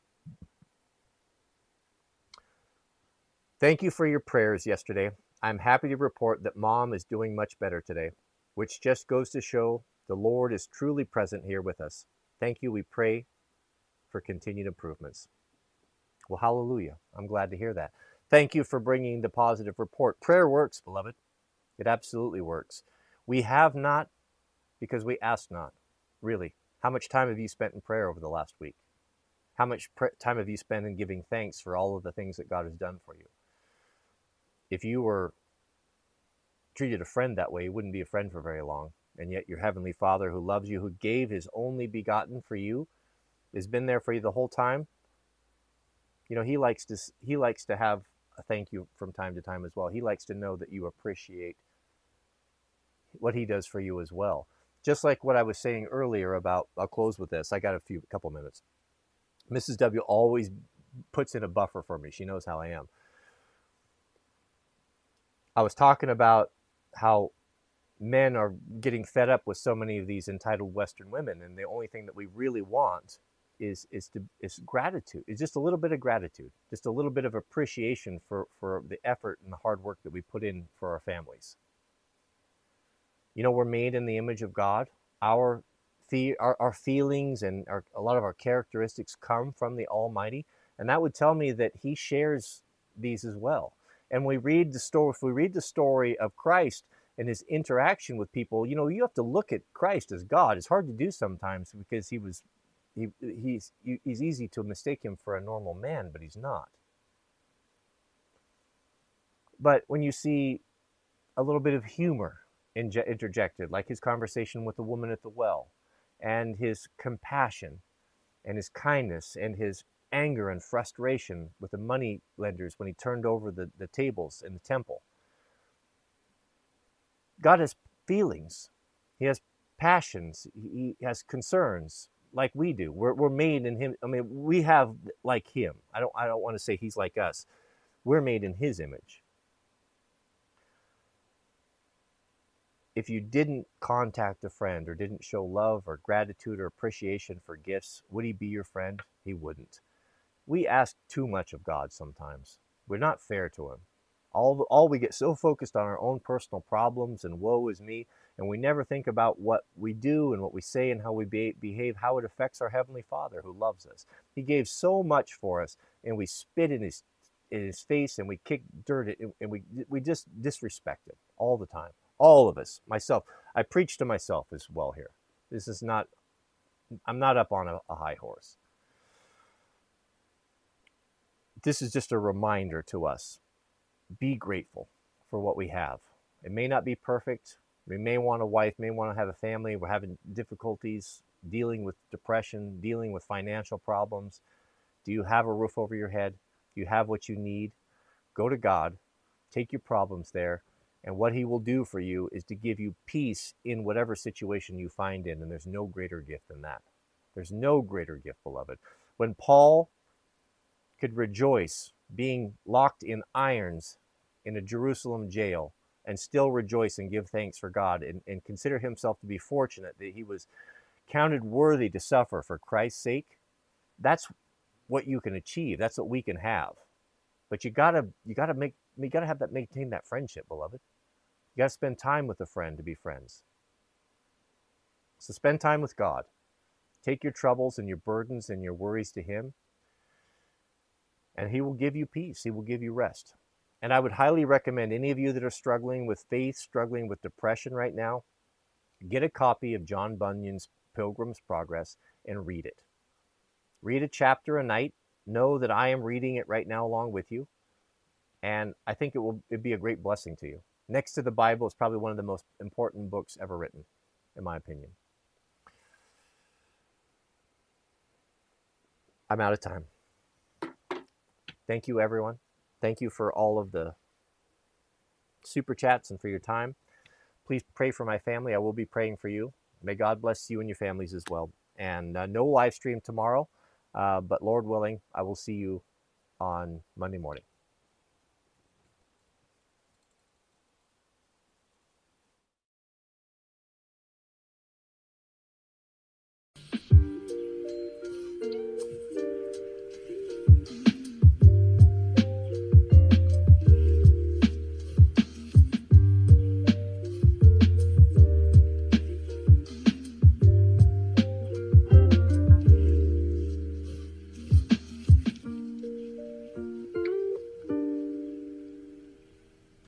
Thank you for your prayers yesterday. I'm happy to report that Mom is doing much better today, which just goes to show the Lord is truly present here with us. Thank you. We pray for continued improvements. Well, hallelujah. I'm glad to hear that. Thank you for bringing the positive report. Prayer works, beloved. It absolutely works. We have not because we ask not. Really. How much time have you spent in prayer over the last week? How much time have you spent in giving thanks for all of the things that God has done for you? If you were treated a friend that way, you wouldn't be a friend for very long. And yet your Heavenly Father who loves you, who gave His only begotten for you, has been there for you the whole time. You know, He likes to, he likes to have a thank you from time to time as well. He likes to know that you appreciate what He does for you as well. Just like what I was saying earlier about, I'll close with this. I got a few, a couple minutes. Missus W always puts in a buffer for me. She knows how I am. I was talking about how men are getting fed up with so many of these entitled Western women, and the only thing that we really want is is to is gratitude. It's just a little bit of gratitude, just a little bit of appreciation for for the effort and the hard work that we put in for our families. You know, we're made in the image of God. Our the our, our feelings and our, a lot of our characteristics come from the Almighty, and that would tell me that He shares these as well. And we read the story. If we read the story of Christ and His interaction with people, you know, you have to look at Christ as God. It's hard to do sometimes because he was, he he's he's easy to mistake Him for a normal man, but He's not. But when you see a little bit of humor interjected, like His conversation with the woman at the well, and His compassion, and His kindness, and His anger and frustration with the money lenders when He turned over the, the tables in the temple. God has feelings. He has passions. He has concerns like we do. We're, we're made in Him. I mean, we have like Him. I don't, I don't want to say He's like us. We're made in His image. If you didn't contact a friend or didn't show love or gratitude or appreciation for gifts, would He be your friend? He wouldn't. We ask too much of God sometimes. We're not fair to Him. All, all we get so focused on our own personal problems and woe is me, and we never think about what we do and what we say and how we be, behave, how it affects our Heavenly Father who loves us. He gave so much for us, and we spit in His in His face and we kick dirt at, and we we just disrespect Him all the time. All of us, myself. I preach to myself as well here. This is not, I'm not up on a, a high horse. This is just a reminder to us. Be grateful for what we have. It may not be perfect. We may want a wife, may want to have a family. We're having difficulties dealing with depression, dealing with financial problems. Do you have a roof over your head? Do you have what you need? Go to God. Take your problems there. And what He will do for you is to give you peace in whatever situation you find in. And there's no greater gift than that. There's no greater gift, beloved. When Paul could rejoice being locked in irons in a Jerusalem jail and still rejoice and give thanks for God and, and consider himself to be fortunate that he was counted worthy to suffer for Christ's sake, that's what you can achieve. That's what we can have. But you gotta you gotta make you gotta have that maintain that friendship, beloved. You gotta spend time with a friend to be friends. So spend time with God. Take your troubles and your burdens and your worries to Him, and He will give you peace. He will give you rest. And I would highly recommend any of you that are struggling with faith, struggling with depression right now, get a copy of John Bunyan's Pilgrim's Progress and read it. Read a chapter a night. Know that I am reading it right now along with you. And I think it will it'd be a great blessing to you. Next to the Bible, it's probably one of the most important books ever written, in my opinion. I'm out of time. Thank you, everyone. Thank you for all of the super chats and for your time. Please pray for my family. I will be praying for you. May God bless you and your families as well. And uh, no live stream tomorrow, uh, but Lord willing, I will see you on Monday morning.